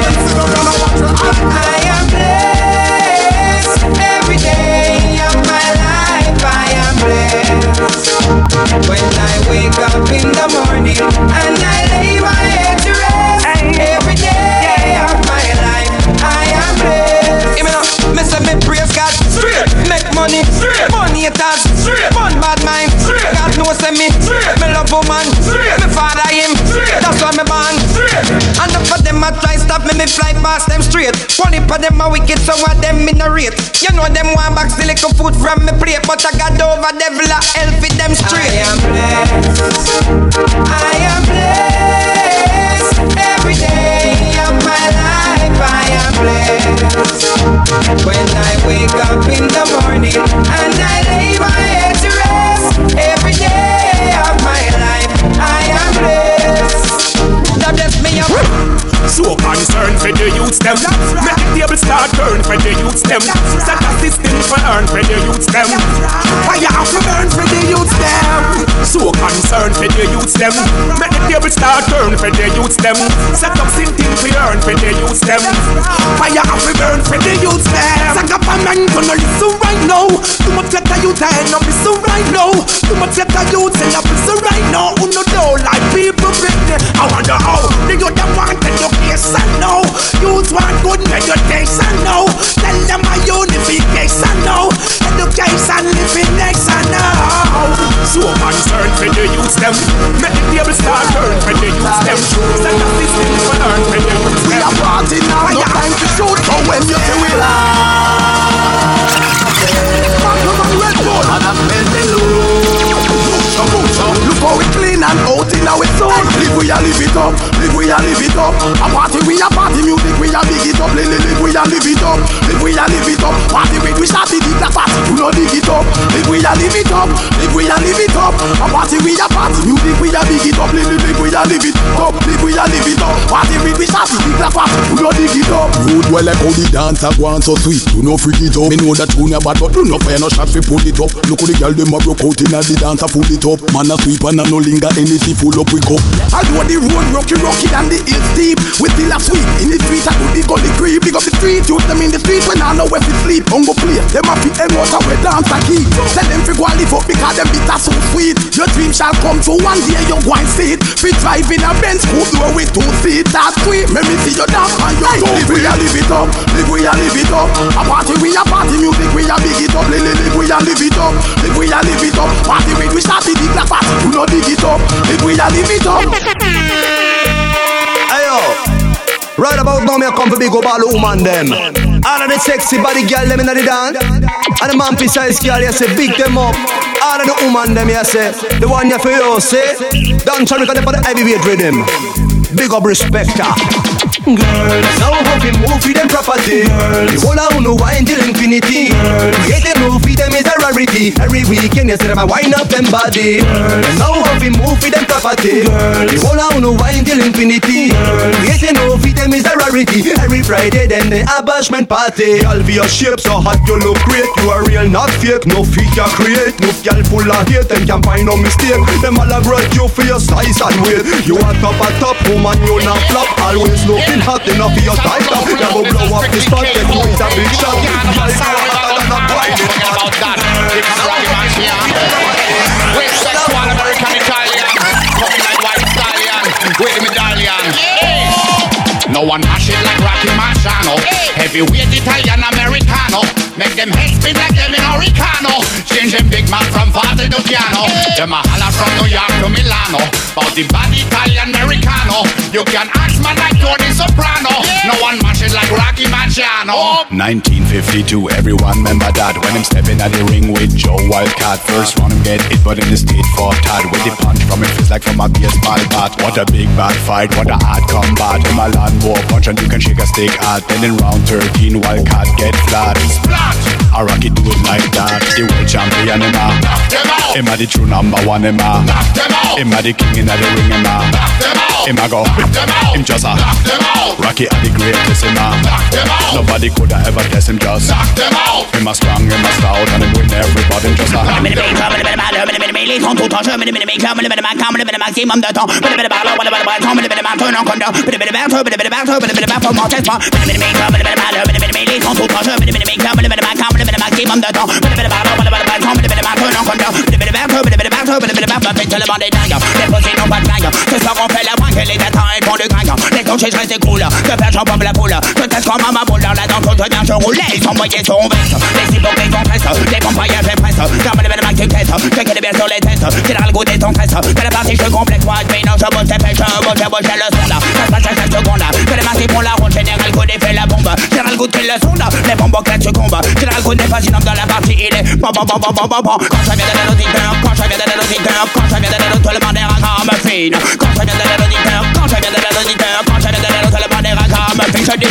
I am blessed every day of my life. I am blessed when I wake up in the morning and I lay my head to rest. Every day of my life, I am blessed. Give me now, me say me praise God straight, make money straight, money it has straight, fun bad mind straight. God knows me straight, me love woman straight, me father him straight. That's why me born straight. And up for them a try stop me, me fly past them straight. One for them a wicked, some of them in a rate. You know them want back the little food from me plate, but I got over devil a hell for them straight. I am blessed, I am blessed every day of my life. I am blessed when I wake up in the morning and I lay my head to rest. Every day of my life, I am blessed. God bless me up. So concerned for the youths them. Make the table start turn for the youths them. Set a system for earn for the youths them. Fire have to burn for the youths them. So concerned for the youths them. Make the table start turn for the youths them. Set up something for earn for the youths them. Fire have to burn for the youths them. Sack up a man gonna listen right now. Too much let the youth end up listen right now. Too much let the youth end up listen right now. Who no know like people Britney. I wonder how the youth them want education now. Youth want good meditation now. Tell them a unification now. Education living nation now. So concerned for the youths them. Make the table start turn for the youths them. Set a system for earn for the youths them. We are party now, no time to shoot. But when you say we lie, and I feel the load. Look how we clean and out in our soul. Live we a live it up, live we a live it up. A party we a party music we a big it up. Live, live we a live it up, live we a live it up. Party with we start it like party, you know dig it up. Live we a live it up, live we a live it up. A party we a party music we a big it up. Live, live we a live it up, live we a live it up. Party with we start it like party, you know dig it up. Rude well like how the dancer go on so sweet. You know freak it up. Me know that tune ya bad but do no fire no shot fi pull it up. Look how the girl dem a broke out inna the dancer full it up. Man a sweep and a no linger anything full up we go. I do the road rocky rocky and the hill steep. We still a sweep in the street I do the gully creep. Big up the street, use them in the street when I know where to sleep. Bongo play, them a fit and water we dance a keep. Tell them fi go and live up because them bitter so sweet. Your dream shall come true one day you go and see it. Fi drive in a Benz coupe door with two seats. That's sweet. Let me see you dance on your toe. Live we a live it up, live we a live it up. A party we a party music we a big it up. Live live we a live it up, live we a live it up. Party with we start the big like party, you know dig it up. Live we a live it up. Ayo, right about now me a come for big up all the woman them. All of the sexy body girl them inna the dance, and the man precise girl you say big them up. All of the woman them you say, the one you feel you say, dance on because they put the heavyweight rhythm. Big up respect her. Girls, now how we move with them property. Girls, the whole I know wine till infinity. Girls, get them move with them is a rarity. Every weekend you see them a wind up them body. Girls, now how we move with them property. Girls, the whole I know wine till infinity. Girls, get them move with them is a rarity. Every Friday then the abashment party. All for your shape so hot you look great. You are real not fake. No feet you create. No girl full of hate and can find no mistake. Them all a grudge you for your size and weight. You are top at top woman you not flop. Always looking hot enough for your tight up. You go blow up the spot, then you is a big shot. You are not whining about that. It's a rocky man here. With sexual American Italian, coming like white stallion, with the medallion. No one mash it like Rocky Marciano. Heavyweight Italian Americano. Make them head spin like them in Oricano. Change them big man from Father to piano. Them a holla from New York to Milano. About the body Italian Americano. You can ask man like Tony Soprano. No one mash it like Rocky Marciano. nineteen fifty-two, everyone remember that. When him stepping at the ring with Joe Wildcat. First round him get hit but in the state fought hard. With the punch from him feels like from a baseball bat. What a big bad fight, what a hard combat. Him a land war punch and you can shake a stick at. Then in round thirteen Wildcat get flat. A Rocky do it like that. The world champion him a him a the true number one him a him a the king in the ring him a him a go him just a Rocky a the greatest him a nobody coulda ever test him just him a strong him a stout and him win everybody him just a Les sont tout en jeu, mais les méclats, mais les maximum, mais le maximum de temps. Mais les ballons, mais les ballons, mais les ballons, non condom. Mais les ballons, mais les ballons, mais les ballons, mon test pas. Mais les méclats, mais les ballons, mais les sont tout en jeu, mais les méclats, mais les maximum, mais le maximum de temps. Mais les ballons, mais les ballons, mais les ballons, non condom. Mais les ballons, mais les ballons, mais les ballons, fait le monde est dingue. Les possibles n'ont pas de dingue. Ce soir on fait la brinque et les datins ils font du gringue. Les touches je reste cool. Que faire j'en pompe la poule. Je teste comme ma boule dans la danse, je viens je roule. Ils sont moyens sur veste. Les hypocrites sont presses. Les compagnons fait presse. Comme les belles max caisse. Je connais bien sur les tests. C'est dans le goût des ton stress. Que la partie je complète moi. Mais non je bosse c'est fait. Je bosse je bosse j'ai le son là. Ça se passe à chaque seconde là. Que les masques font la ronde. Général goût fait la bombe. Général goût fait le son là. Les bombes au claque succombe. Général goût n'est pas une homme dans la partie. Il est bon bon bon bon bon bon bon. Quand je viens de l'auditeur. Quand je viens de l'auditeur. Quand je viens de l'auditeur. Tout le monde est raccord fine. Quand je viens de l'auditeur. Quand je viens de l'auditeur. Quand je viens de l'auditeur. Tout le monde est raccord fine. Je dis.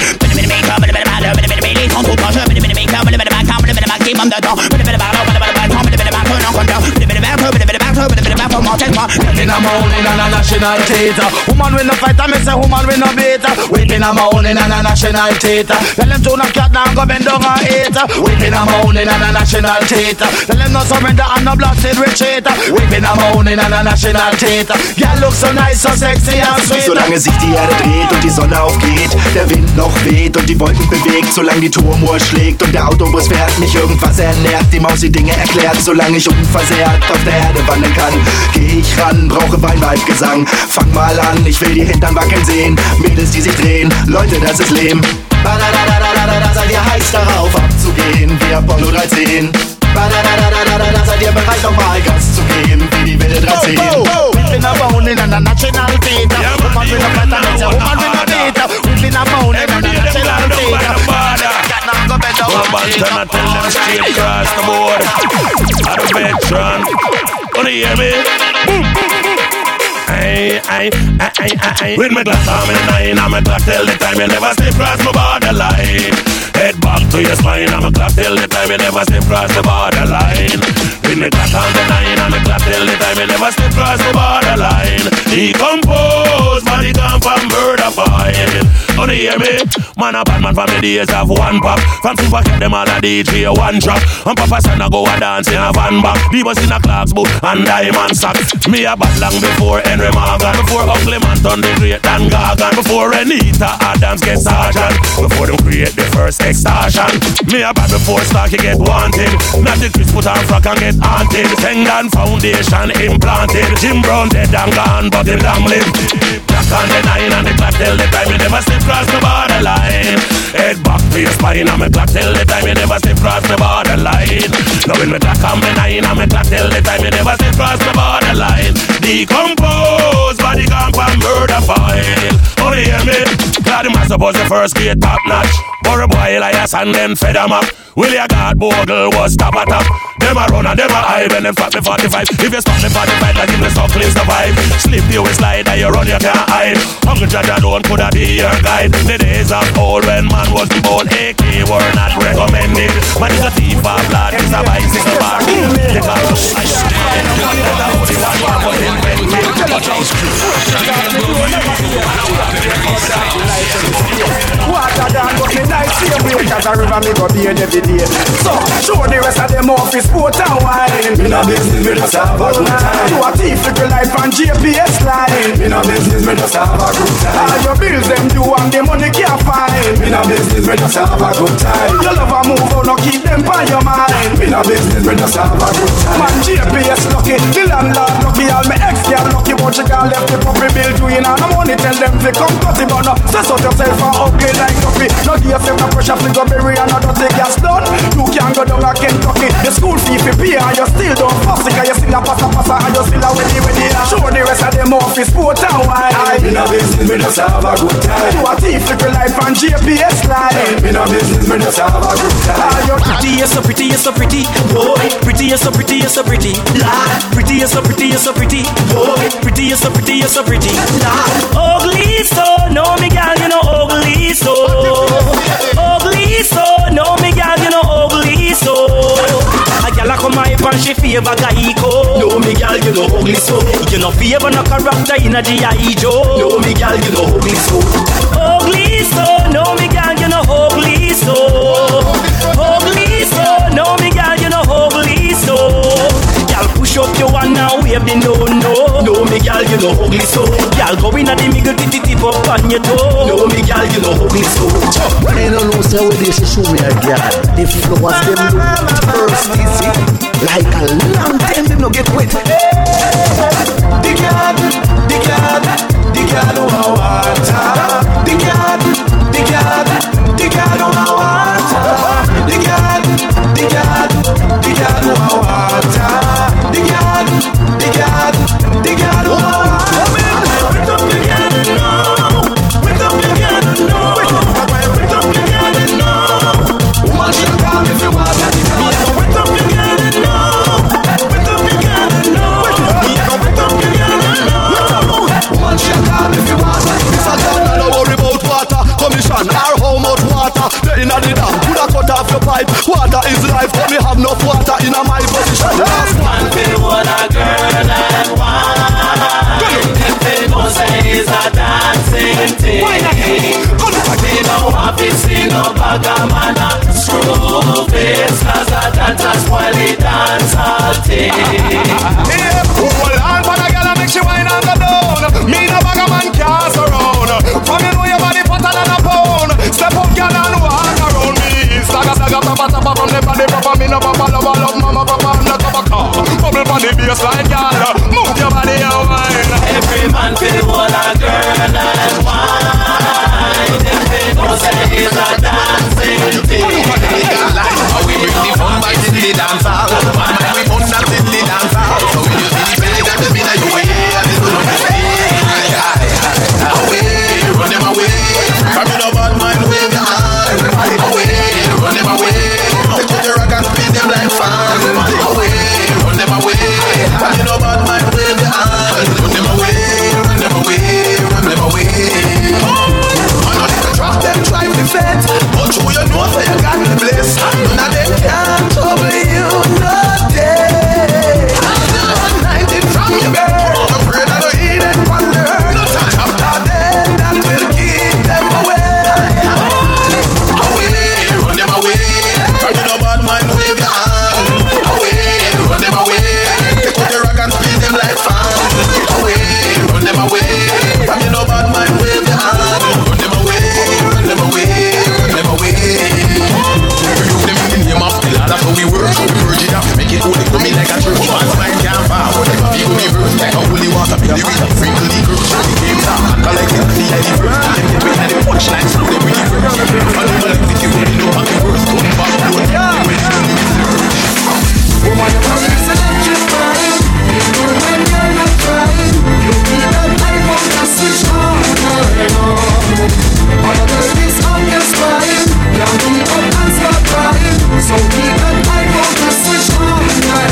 Les sont tout en jeu. Mais les méclats. Mais les maximum. Mais le maximum de temps. Mais les ballons. Mais les ballons. Mais les ballons. Non condom. Mais les ballons. Mais les ballons. Mais les ballons. Mon test pas. In a moan in a national theater. Woman win no fighter, me say woman win no beater. Whipping a moan in a national theater. Tell them to knock cat down, go bend down and eat. Whipping a moan in a national theater. Tell them no surrender and no blasted retreat. Whipping a moan in a national theater. Girl look so nice, so sexy and sweet. Solange sich die Erde dreht und die Sonne aufgeht, der Wind noch weht und die Wolken bewegt, solange die Turmuhr schlägt und der Autobus fährt, mich irgendwas ernährt, die Maus die Dinge erklärt, solange ich unversehrt auf der Erde wandeln kann, geh ich ran, brauche Wein, Weib, Gesang. Fang mal an, ich will die Hintern wackeln sehen. Mädels, die sich drehen, Leute, das ist Lehm. Badadadadadada, seid ihr heiß darauf abzugehen, wie Apollo dreizehn. Badadadadadada, seid ihr bereit, nochmal Gas zu geben, wie die wilde dreizehn. We've been a bone in a national theater. Woman with a fat and it's a woman with a beater. We've been a bone in a national theater. Woman gonna tell them straight across the board. Out of veteran. Wanna hear me? Aye, aye, aye, aye, aye. With my glass on me nine, I'm a clock till the time you never step across my borderline. Head back to your spine, I'm a clock till the time you never step across the borderline. With my glass on the nine, I'm a clock till the time you never step across the borderline. Decompose, body come from murder file. Wanna hear me? Man a bad man from the days of one pop. From super cat them all a D J one drop. And Papa son a go a dance in a van back. The bus in a Clark's boot and diamond socks. Me a bad long before Henry Morgan. Before Ugly Man turn the great Dan Gargan. Before Anita Adams get sergeant. Before them create the first extortion. Me a bad before Starkey get wanted. Not the Chris put on frock and get haunted. Tendon foundation implanted. Jim Brown dead and gone, but him long live. Black on the nine and the clock till the time you never slip cross the borderline. Head back to your spine and me clock till the time you never slip cross the borderline. Now when me clock on me nine and me clock till the time you never slip cross the borderline. Decompose, body gone for murder file. Oh, you hear me? Glad him I suppose the first grade top notch. Or a boy Elias and then fed him up. Willie God Bogle was top at top. Them a run and them a hide when them spot me forty-five. If you spot me forty-five, like give me some clean survive. Slip you a slide and you run you can't hide. Hungry Jaja don't coulda be your guide. The days of old when man was born, A K were not recommended. Man is a thief of blood, is a bicycle bar. They got to I stand. That's the only one who was invented. Water down, but me night same way. Cause a river me go beard every day. So, show the rest of them off his sport and wine. Me no business, me just have a good time. Do a thief little life on G P S line. Me no business, me just have a good time. All your bills them due and the money can't find. Me no business, me just have a good time. Your love a move out, no keep them by your mind. Me no business, me just have a good time. Man, G P S lucky, the landlord lucky. All my ex girl lucky, but she can't left the puppy bill doing. And the money tell them to come cut it, but no. Stress out yourself and ugly like coffee. No give yourself no pressure, please go bury another thing gas done. You can't go down a Kentucky. The school fee for pay and you still don't fuss it. Cause you still a passa passa and you still a winnie winnie. Show the rest of them off his sport and wine. Me no business, me just have a good time. Do a thief little life on G P S line. Me no business, me just have a good time. All your pretty, you're so pretty, you're so pretty. Boy, pretty, you're so pretty, you're so pretty. Lord, pretty, you're so pretty, you're so pretty. Boy, pretty, you're so pretty, you're so pretty. Lord, ugly so, no me gal, you know ugly so. Ugly so, no me gal, you know ugly so. A gal a come my and she favor guy go. No me gal, you know ugly so. You know favor no character in a G I Joe. No me gal, you know ugly so. Ugly so, no me gal, you know ugly so. Ugly so, no me gal, you know ugly so. Gal push up your one now, wave the no no. No me gal, you know ugly so. Gal go in at the middle, tip tip up on your toe. No me gal, you know ugly so. I don't know say what this is show me a gal. The flowers them look thirsty, see. Like a long time them no get wet. The gal, the gal, the gal on water. The gal, the gal, the gal on water. The gal, the gal, the gal on water. The gal, the gal, the gal on water. Wake up the gal now. Wake up the gal now. Wake up the gal now. Woman should come if you want to. Wake up the gal now. Wake up the gal now. Wake up the gal now. Woman should come if you want to. If I don't worry about water, commission or how much water they inna the dam. Coulda cut off your pipe. Water is life, but me have enough water inna my position. Last one feel what a girl and wine. Them people say it's a dancing thing. They know what to see no bugger man a screw face. Cause that that's why they dance all thing. Yeah, hold on for the girl and make she wine and go down. Me no bugger man cast around. From you know your body fatter than a pound. Step up girl and walk around me. Saga saga papa papa from the body proper. Me no papa love love mama papa I'm not cover car. Bubble on the baseline girl. Move your body and wine. Every man feel what a girl and wine. Them people say it's a dancing thing. How we bring the fun back in the dance hall. One man we put that in the dance hall. So we use the belly that is in the way. And it's gonna be away, run them away. From the bad mind with the hand. Away, run them away. Take the rock and spin them like fan. Away, run them away. From the bad mind with the hand. Run them away, run them away, run them like a true one time can't forward. People be bruised like a holy water. Be the reason, sprinkle the cruise. The game talk, and collect it. The any first. Them the way that they watch like some they really first. And they will execute it, they know how it works. Don't back down, they will do it first. Woman, you're probably electrifying. Even when you're not trying, you feel that I want to switch on. All of the this on your spine, down the up and start crying. So keep that I want to switch on.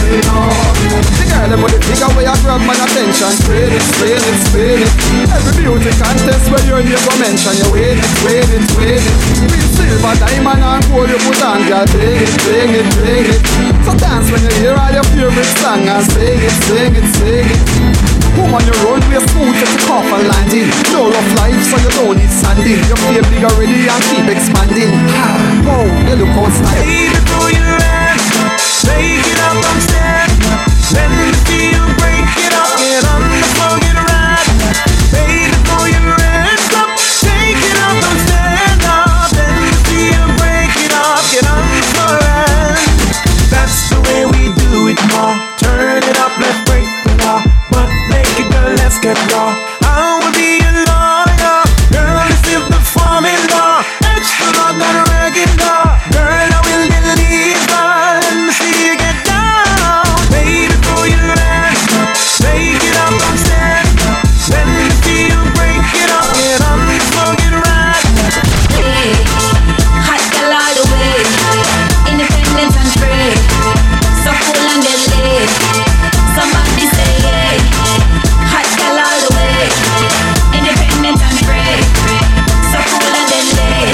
The girl them with the figure where you grab my attention. Spin it, spin it, spin it. Every beauty contest where your name go mention. You wait it, wait it, wait it. With silver, diamond and gold you put on. Girl, bring it, bring it, bring it. So dance when you hear all your favorite song and sing it, sing it, sing it. Woman, you run with smooth at the cup and landing. No rough life, so you don't need sanding. Your feel big already and keep expanding. Wow, you look on style. Baby, throw your hands, take it up and stand. Let me feel, break it up, get on the floor, get right. Baby, throw your hands up, take it up and stand up. Let me feel, break it up, get on the floor, right. That's the way we do it, ma. Turn it up, let's break the law. But naked girl, let's get raw. I will be a lawyer. Girl, this is the formula. Extra long and regular. Girl, I will deliver. Let me see you get down. Baby, throw your hands up. Take it up and stand up. Let me see you break it up. Get on the floor, get right. Hey, hot girl all the way. Independent and free. So cool and deadly. Somebody say yeah. Hot girl all the way. Independent and free. So cool and deadly.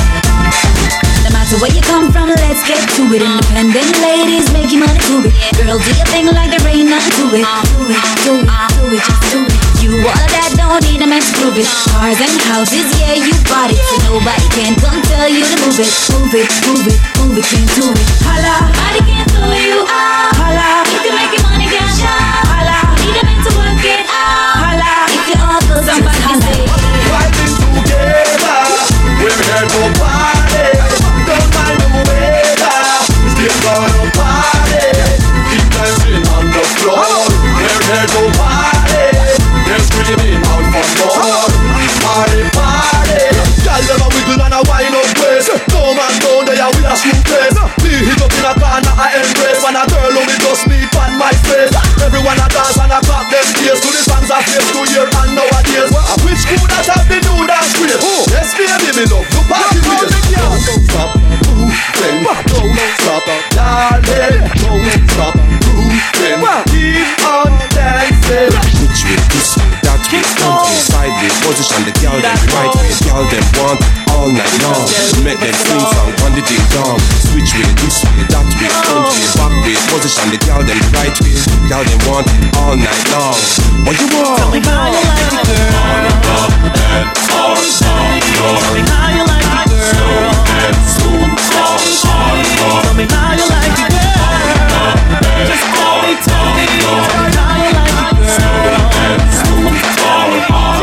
No matter where you come from, let's get to it. Independent ladies, make your money to it. Girl, do your thing like there ain't nothing to it. Do it, do it, do it, just do it. You all that don't need a man to prove it. Cars and houses, yeah, you bought it. So nobody can come tell you to move it. Move it, move it, move it, can't do it. Holla, nobody can do you out. Holla, if you make your money cash out. Holla, need a man to work it out. Holla, if you all go somebody say Riding together, we're here to party. Don't mind the weather, still gonna party. Keep dancing on the floor. We're here to party. They're screaming out for more. Party, party. Y'all never wiggle and a wind up waist. No man down there with a smooth place. Me hit up in a corner, I embrace. When a girl only just me on my face. Everyone a dance and a clap them ears to the songs I face to year and nowadays. Which could that have been new dance great? Yes, baby, me love the party place. Don't stop moving, don't stop darling, don't stop moving. Keep on dancing. Which way, this way, that way, front way, side way, position the girl them right way, girl them want all night long. Make them sing song on the ding dong. Switch way, this way, that way, front way, back way, position the girl them right way, girl them want all night long. What you want? Tell me how you like it, girl. On up and all down, tell me how you like it, girl. Slow and soon, all hard. Tell me how you like it, girl. Just tell me, tell me, tell me how you like it, girl. Slow and soon, all hard.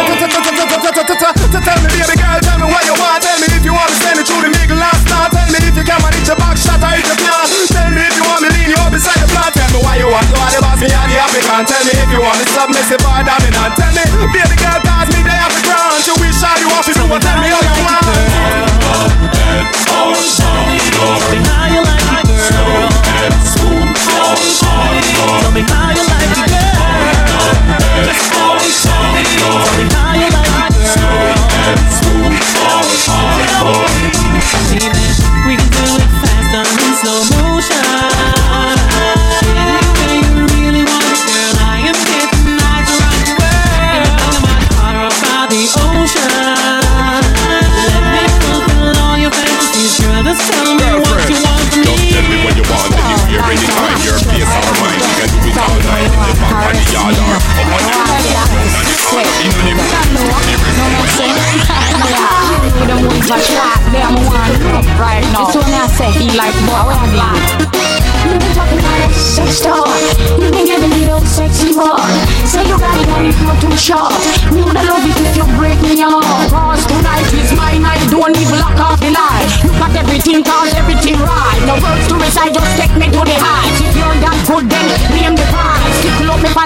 Tell me, baby girl, tell me what you want. Tell me if you want to send it through the nigga last night. Tell me if you can manage your back shot or if you can. Tell me if you want me lean you up beside the plant. Tell me why you want to are the boss, me and the African. Tell me if you want me submissive or dominant. Tell me, baby girl, cause me they have the ground. You wish all you want to do, but tell me how you want. All down, tell me how you like it, girl. Slow and soon, all hard. Tell me how you like it, girl. Just tell me, tell me, tell me how you like it, girl. Slow and soon, all hard. We can do it fast and in slow motion. Any way you really want it, girl. I am here tonight to rock the world. I'm out far about the ocean. Let me fulfill all your fantasies, girl. Just tell me what you want from me. Just tell me what you want, and if you're ready, time your face or mine. You can do it all night in the back of the yard or up on the roof, on the corner, in the roof, you don't want to track them one right now. This one I say he like boy. You been talking about a sex star. You been giving me those sexy boy. Say you got it when you go too short. Me would love it if you break me off. Cause tonight is my night. Don't even lock off the light. You got everything, cause everything right. No words to recite, just take me to the heights. If you're that good,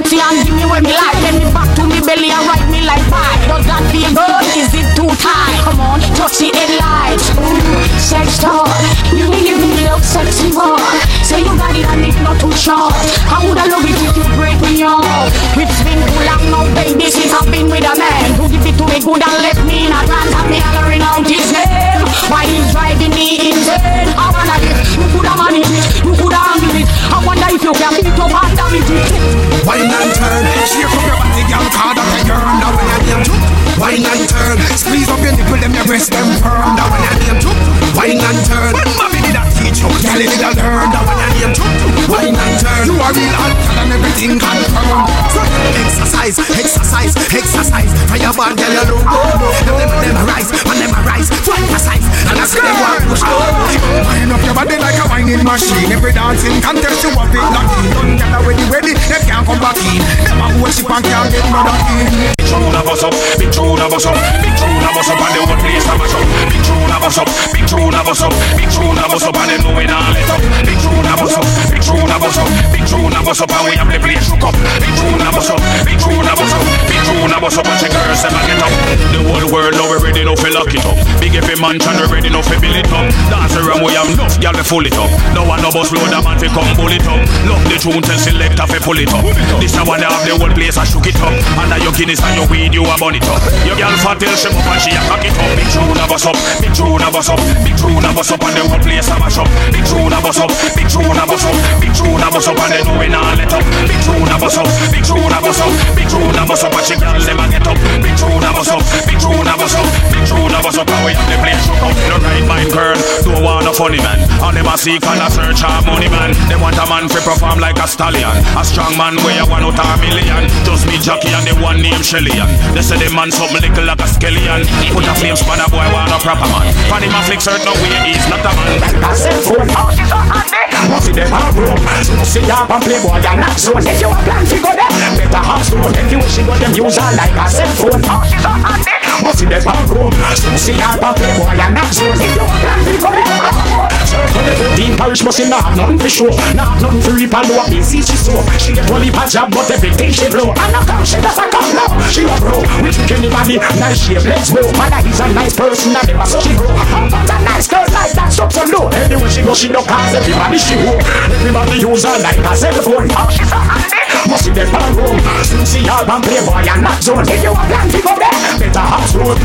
fancy and give me what me like. Get me back to me belly and ride me like pie. Does that feel good? Is it too tight? Come on, touch the headlights. Ooh, sex talk. You need give me love sexy boy. Say you got it and it's not too short. How would I love it if you break me off? It's been too long now, baby, since I've been with a man who give it to me good and left me in a trance and me hollering out his name. Why he's driving me insane? I wonder if you could have managed it, you could have handled it. I wonder if you can beat up and damage it. Wine and turn, shake up your body, girl, card up your girl. Now when I name you, wine and turn, squeeze up your nipple, them your breast, them firm. Now when I name you, wine and turn. When mommy did that teach you, girl, you did a learn. Now when I name you, wine and turn. You are real hot and everything confirmed. So exercise, exercise, exercise. For your band, girl, you look good. Now them them rise, and them rise, fight precise. And I see them want push up. Wine up your body like a whining machine. Every dancing contest you have it locked in. Don't get ready, ready, they can't come back in. Never worship and can't get mother in. Big tune a bus up, big tune a bus up, big tune a bus up, and the whole place a mash up. Big tune a bus up, big tune a bus up, big tune a bus up, and they know we not let up. Big tune a bus up, big tune a bus up, big tune a bus up, and we have the place shook up. Big tune a bus up, big tune a bus up, big tune a bus up, and the girls them a get up. The whole world now we ready now fi lock it up. Big every mansion we ready now fi build it up. Dance around we have enough, y'all we full it up. No one no bus load a man fi come pull it up. Love the tune tell selector fi pull it up. This a one they have the whole place a shook it up. Under your Guinness and your weed you a burn it up. Your girl fat till she up and she a cock it up. Big tune a bus up, big tune a bus up, big tune a bus up, and the whole place a mash up. Big tune a bus up, big tune a bus up, big tune a bus up, and they know we not let up. Big tune a bus up, big tune a bus up, big tune a bus up, and she girl them a get up. Big tune a bus up, big tune a bus up, big tune a bus up, and we have the place shook up. The right mind girl don't want a funny man, and them a seek and a search a money man. They want a man to perform like a stallion, a strong man where you one out of a million. Just me Jackie and the one named Shelly-Ann. They say the man something little like a skeleton. Put a flame span a boy want a proper man. Funny man flick certain no way he's not a man. Like a cell phone, how she's so handy. Must see them a room, so see ya and playboy and not so. If you a plan to go there, better have stone. If you wish you got them use her like a cell phone, how she's so handy. Must see them a room, so see ya and playboy and not so. If you a plan to go there, circle the fourteen parish must see not nothing for sure. Not nothing for reap and low, busy she so. She get only bad job but everything she blow. And now come she does a come now. She a bro, we think anybody nice shape, let's go. Mother is a nice person and never so she grow. But a nice girl like that stop so low. Anywhere she go she don't cause everybody she go. Everybody use her like a cell phone. How she so handy. Must see them a room, soon see her and playboy and not zone. If you a plan to go there, better have stone.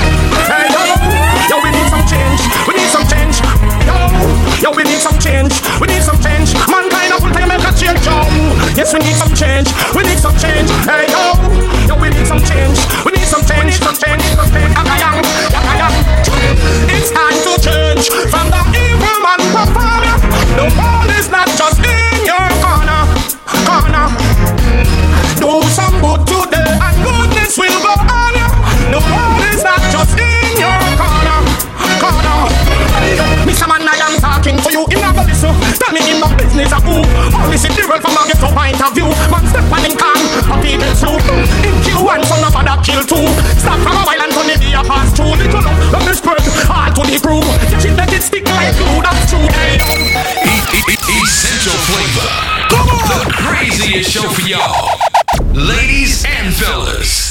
Hey yo, yo we need some change, we need some change. Yo, yo we need some change, we need some change. Mankind of full time make a change, yo. Yes we need some change, we need some change. Hey yo, yo we need some change, we need some change, some change, some change. Yakayang, yakayang. It's time to change from the evil man performer. The ball is not just in your corner, corner. Do some good today and goodness will go on you. The ball is not just in your corner, corner. Mister Man, I am talking to you in a listen. Tell me in my business a who. Only see the world from a ghetto point of view. Man step on in can, a people soup. In Q one, son of father kill two. Stop from a while and turn the day pass through. Little love, let me spread all to the crew. Catch it, let it stick like glue, that's true. Essential Flavor, the craziest show for y'all, ladies and fellas.